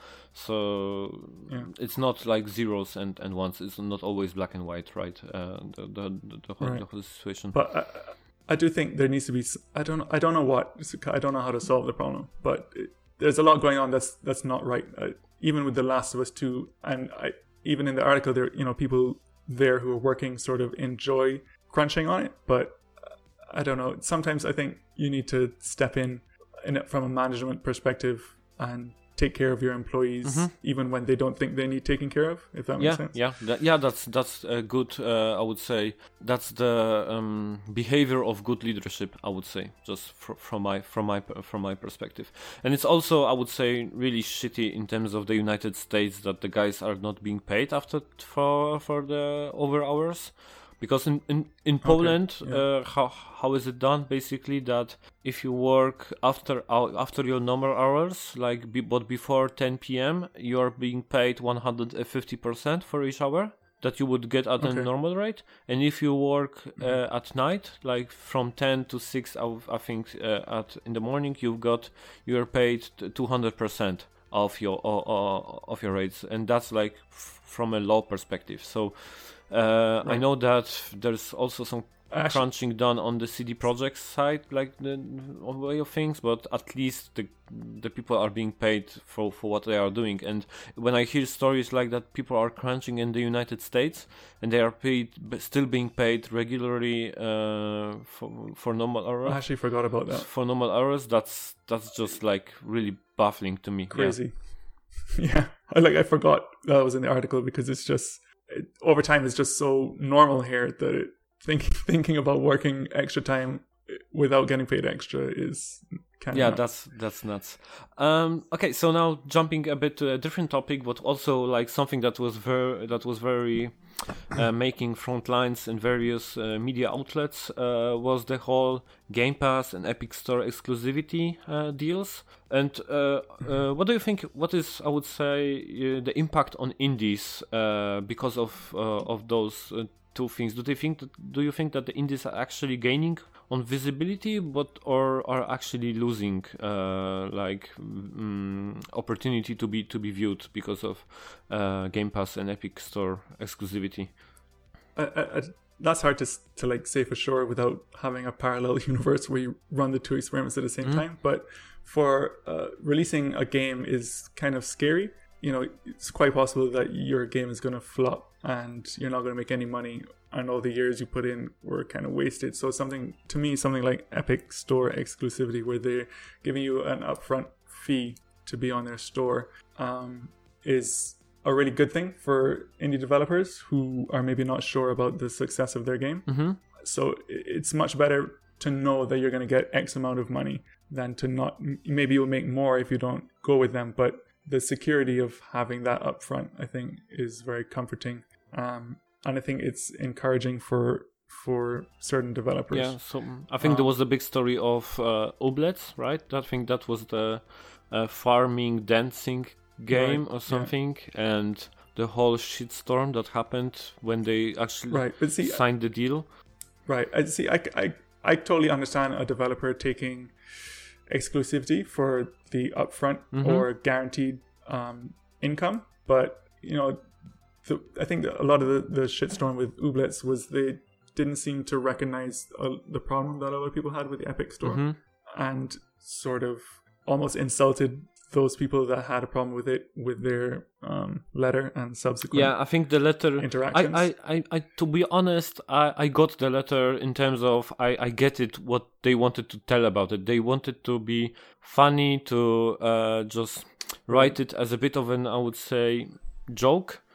So yeah. It's not like zeros and, and ones. It's not always black and white, right? Uh, the the the, the, whole, right. the whole situation. But I, I do think there needs to be. I don't I don't know what I don't know how to solve the problem, but it, there's a lot going on that's that's not right. Uh, even with The Last of Us two, and I, even in the article, there you know people there who are working sort of enjoy crunching on it, but I don't know. Sometimes I think you need to step in, in it from a management perspective and take care of your employees, mm-hmm. even when they don't think they need taking care of. If that makes yeah, sense. Yeah, that, yeah, that's that's a good. Uh, I would say that's the um, behavior of good leadership. I would say, just fr- from my from my from my perspective, and it's also I would say really shitty in terms of the United States that the guys are not being paid after for for the over hours. Because in, in, in Poland, okay, yeah. uh, how how is it done? Basically, that if you work after uh, after your normal hours, like be, but before ten p.m., you are being paid one hundred fifty percent for each hour that you would get at okay. a normal rate. And if you work uh, mm-hmm. at night, like from ten to six, I think uh, at in the morning, you've got you are paid two hundred percent of your uh, uh, of your rates, and that's like f- from a law perspective. So. Uh, right. I know that there's also some Actually, crunching done on the C D Projekt side, like the way of things, but at least the the people are being paid for, for what they are doing. And when I hear stories like that, people are crunching in the United States and they are paid, still being paid regularly uh, for for normal hours. I actually forgot about that. For normal hours, that's that's just like really baffling to me. Crazy. Yeah, yeah. I like I forgot that was in the article because it's just. It, overtime is just so normal here that it, think, thinking about working extra time without getting paid extra is kind of yeah nuts. that's that's nuts. Um okay, so now jumping a bit to a different topic, but also like something that was very that was very uh, making front lines in various uh, media outlets uh, was the whole Game Pass and Epic Store exclusivity uh, deals. And uh, uh, what do you think? What is, I would say, uh, the impact on indies uh, because of uh, of those uh, two things? Do they think? That, do you think that the indies are actually gaining on visibility, but or are actually losing uh, like um, opportunity to be to be viewed because of uh, Game Pass and Epic Store exclusivity? I, I, that's hard to to like say for sure without having a parallel universe where you run the two experiments at the same mm-hmm. time, but. For uh, releasing a game is kind of scary. You know, it's quite possible that your game is going to flop and you're not going to make any money, and all the years you put in were kind of wasted. So something, to me, something like Epic Store exclusivity, where they're giving you an upfront fee to be on their store, um, is a really good thing for indie developers who are maybe not sure about the success of their game. Mm-hmm. So it's much better to know that you're going to get X amount of money than to not. Maybe you'll make more if you don't go with them, but the security of having that up front, I think, is very comforting, um, and I think it's encouraging for for certain developers. Yeah, so I think um, there was a big story of uh, Ooblets, right? I think that was the uh, farming dancing game right, or something, yeah. And the whole shitstorm that happened when they actually right. but see, signed the deal. Right. I see. I, I, I totally understand a developer taking exclusivity for the upfront mm-hmm. or guaranteed um, income, but you know, the, I think that a lot of the, the shitstorm with Ooblets was they didn't seem to recognize uh, the problem that a lot of people had with the Epic Store, mm-hmm. and sort of almost insulted those people that had a problem with it with their um, letter and subsequent yeah I think the letter interactions. I, I, I, I to be honest I, I got the letter in terms of I, I get it what they wanted to tell about it. They wanted to be funny, to uh, just write it as a bit of an, I would say, joke,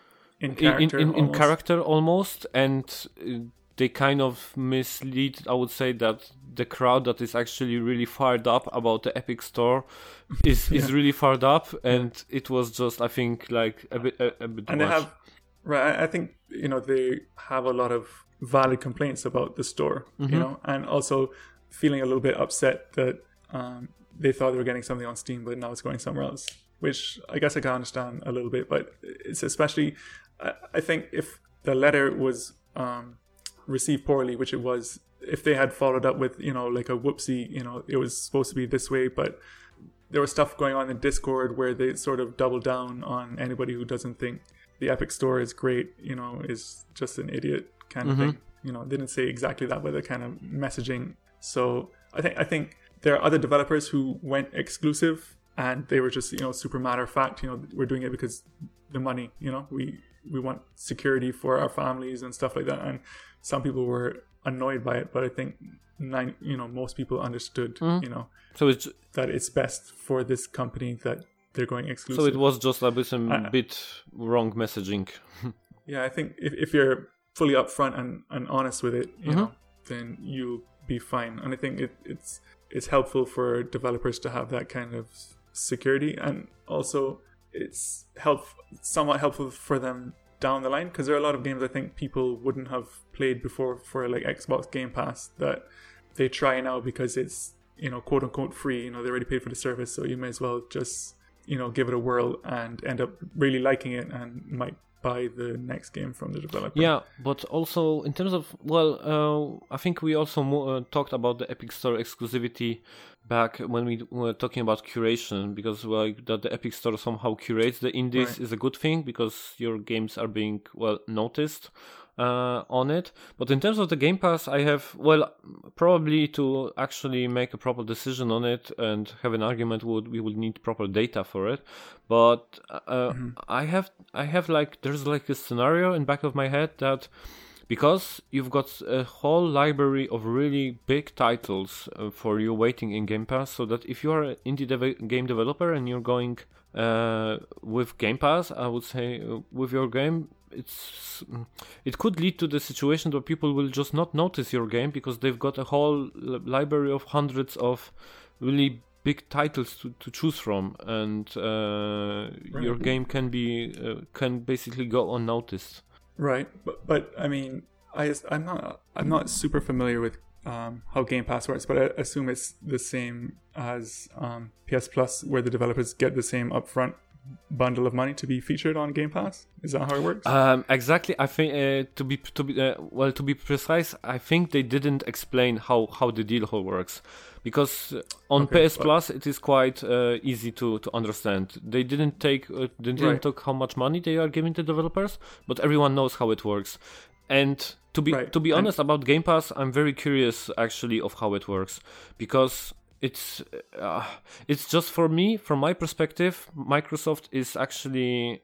in character, in, in, in almost. character almost, and uh, they kind of mislead, I would say, that the crowd that is actually really fired up about the Epic Store is Yeah. is really fired up, and it was just, I think, like a bit a, a bit And much. they have, right? I think you know they have a lot of valid complaints about the store, Mm-hmm. you know, and also feeling a little bit upset that um, they thought they were getting something on Steam, but now it's going somewhere else. Which I guess I can understand a little bit, but it's especially, I, I think if the letter was um, received poorly, which it was, if they had followed up with, you know, like a whoopsie, you know, it was supposed to be this way, but there was stuff going on in Discord where they sort of double down on anybody who doesn't think the Epic Store is great, you know, is just an idiot kind of Mm-hmm. thing. You know, they didn't say exactly that, but they're kind of messaging. So I think I think there are other developers who went exclusive and they were just, you know, super matter of fact, you know, we're doing it because the money, you know, we we want security for our families and stuff like that. And some people were annoyed by it, but I think nine, you know, most people understood, Mm-hmm. you know, So it's that it's best for this company that they're going exclusive. so it was just a bit, a I- bit wrong messaging. Yeah, I think if, if you're fully upfront and, and honest with it, you Mhm. know, then you'll be fine. And I think it, it's it's helpful for developers to have that kind of security, and also it's help somewhat helpful for them down the line, because there are a lot of games I think people wouldn't have played before for like Xbox Game Pass that they try now because it's, you know, quote unquote free. You know, they already paid for the service, so you may as well just, you know, give it a whirl and end up really liking it and might buy the next game from the developer. Yeah, but also in terms of, well, uh, I think we also mo- uh, talked about the Epic Store exclusivity back when we were talking about curation, because like that the Epic Store somehow curates the indies Right. is a good thing because your games are being well noticed uh, on it. But in terms of the Game Pass, I have, well, probably to actually make a proper decision on it and have an argument, would we would need proper data for it. But uh, I have I have like there's like a scenario in back of my head that because you've got a whole library of really big titles uh, for you waiting in Game Pass, so that if you are an indie dev- game developer and you're going uh, with Game Pass, I would say uh, with your game, it's it could lead to the situation where people will just not notice your game because they've got a whole li- library of hundreds of really big titles to, to choose from, and uh, Right. your game can be uh, can basically go unnoticed. Right, but but I mean, I just- I'm not I'm not super familiar with um, how Game Pass works, but I assume it's the same as um, P S Plus, where the developers get the same upfront bundle of money to be featured on Game Pass. Is that how it works? Um, exactly. I think uh, to be to be uh, well to be precise, I think they didn't explain how, how the deal whole works, because on Okay, P S but- Plus it is quite uh, easy to, to understand. They didn't take uh, they didn't Right. talk how much money they are giving the developers, but everyone knows how it works. And to be Right, to be and- honest about Game Pass, I'm very curious actually of how it works, because it's uh, it's just for me, from my perspective, Microsoft is actually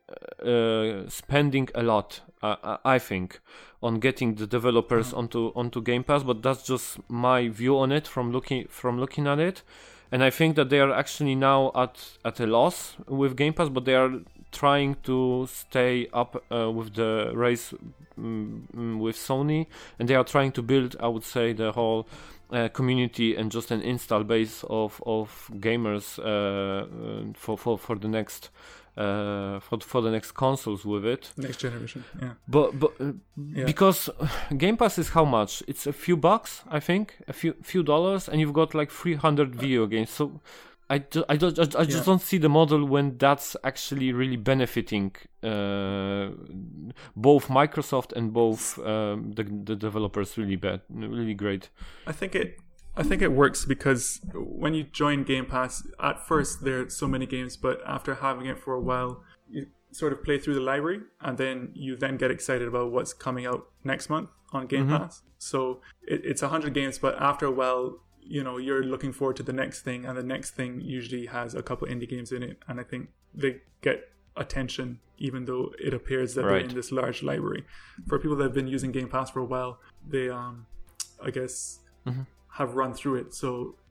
uh, spending a lot, uh, I think, on getting the developers onto onto Game Pass. But that's just my view on it from looking from looking at it, and I think that they are actually now at at a loss with Game Pass, but they are trying to stay up uh, with the race um, with Sony, and they are trying to build, I would say, the whole uh, community and just an install base of of gamers uh, uh, for for for the next uh, for for the next consoles with it. Next generation, yeah. But but uh, Yeah. because Game Pass is how much? It's a few bucks, I think, a few few dollars, and you've got like three hundred video games. So I, ju- I, ju- I, ju- I just Yeah. don't see the model when that's actually really benefiting uh, both Microsoft and both um, the the developers really bad, really great. I think it I think it works because when you join Game Pass, at first there are so many games, but after having it for a while, you sort of play through the library, and then you then get excited about what's coming out next month on Game Mhm. Pass. So it, it's one hundred games, but after a while, you know, you're looking forward to the next thing, and the next thing usually has a couple indie games in it, and I think they get attention even though it appears that Right. they're in this large library. For people that have been using Game Pass for a while, they um I guess Mhm. have run through it, so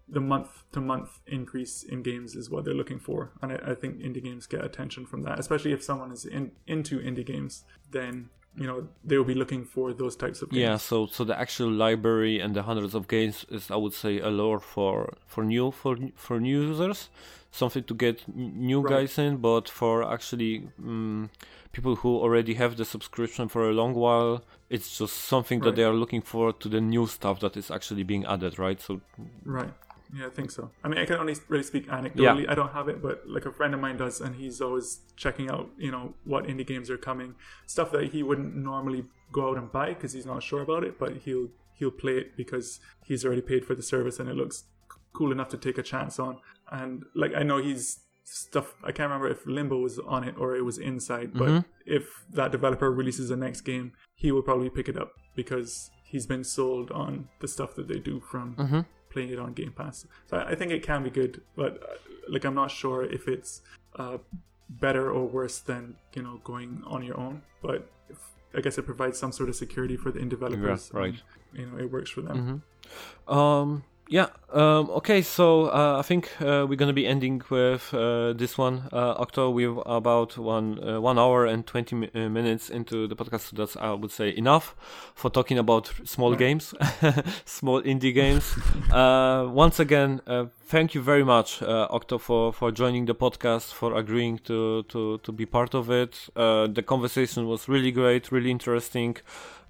the month-to-month increase in games is what they're looking for. And I, I think indie games get attention from that, especially if someone is in, into indie games, then, you know, they will be looking for those types of games. Yeah, so so the actual library and the hundreds of games is, I would say, a lure for for new for for new users, something to get new Right. guys in. But for actually um, people who already have the subscription for a long while, it's just something that Right. they are looking for to the new stuff that is actually being added, right? So Right. Yeah, I think so. I mean, I can only really speak anecdotally. Yeah. I don't have it, but like a friend of mine does, and he's always checking out, you know, what indie games are coming, stuff that he wouldn't normally go out and buy because he's not sure about it, but he'll he'll play it because he's already paid for the service and it looks c- cool enough to take a chance on. And like I know he's stuff. I can't remember if Limbo was on it or it was Inside, but Mhm. if that developer releases the next game, he will probably pick it up because he's been sold on the stuff that they do from. mhm. Playing it on Game Pass. So I I think it can be good, but uh, like I'm not sure if it's uh, better or worse than, you know, going on your own. But if, I guess it provides some sort of security for the indie developers. Yeah, right. And, you know, it works for them. Mhm. Um, yeah. Um, okay. So uh, I think uh, we're gonna be ending with uh, this one, uh, Octo. We're about one uh, one hour and twenty mi- uh, minutes into the podcast. So that's, I would say, enough for talking about small Right. games, small indie games. uh, once again, uh, thank you very much, uh, Octo, for, for joining the podcast, for agreeing to to to be part of it. Uh, the conversation was really great, really interesting.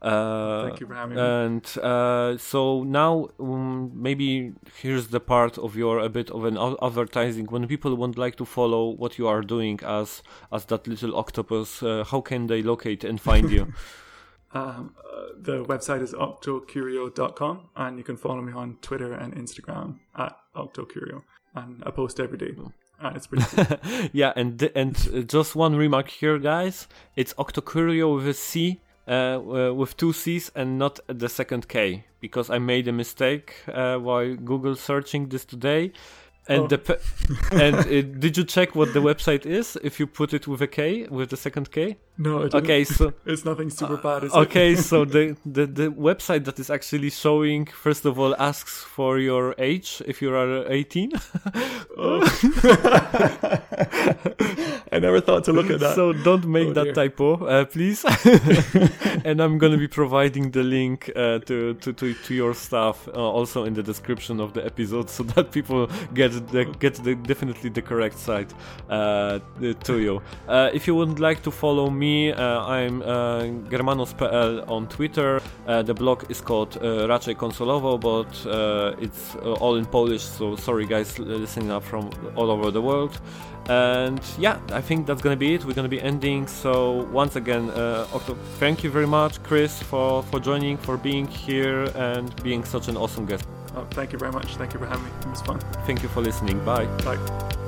Uh, Thank you for having me. and uh, so now um, maybe here's the part of your a bit of an ad- advertising. When people would like to follow what you are doing as as that little octopus, uh, how can they locate and find you? Um, uh, the website is octocurio dot com, and you can follow me on Twitter and Instagram at octocurio, and I post every day, and it's pretty cool. Yeah, and th- and uh, just one remark here, guys. It's Octocurio with a C. Uh, uh, with two C's and not the second K, because I made a mistake uh, while Google searching this today. And Oh. the pe- and uh, did you check what the website is if you put it with a K, with the second K? No, it Okay, so it's nothing super bad. Is okay, it? so the, the the website that is actually showing, first of all, asks for your age if you are eighteen. Oh. I never thought to look at that. So don't make Oh, that dear. typo, uh, please. And I'm gonna be providing the link uh, to, to, to to your stuff uh, also in the description of the episode, so that people get the get the definitely the correct site uh, to you. Uh, if you would like to follow me, uh, I'm uh, Germanos dot p l on Twitter. Uh, the blog is called uh, Raczej Konsolowo, but uh, it's uh, all in Polish. So sorry, guys, listening up from all over the world. And yeah, I think that's gonna be it. We're gonna be ending. So once again, uh, Octo, thank you very much, Chris, for, for joining, for being here, and being such an awesome guest. Oh, thank you very much. Thank you for having me. It was fun. Thank you for listening. Bye. Bye.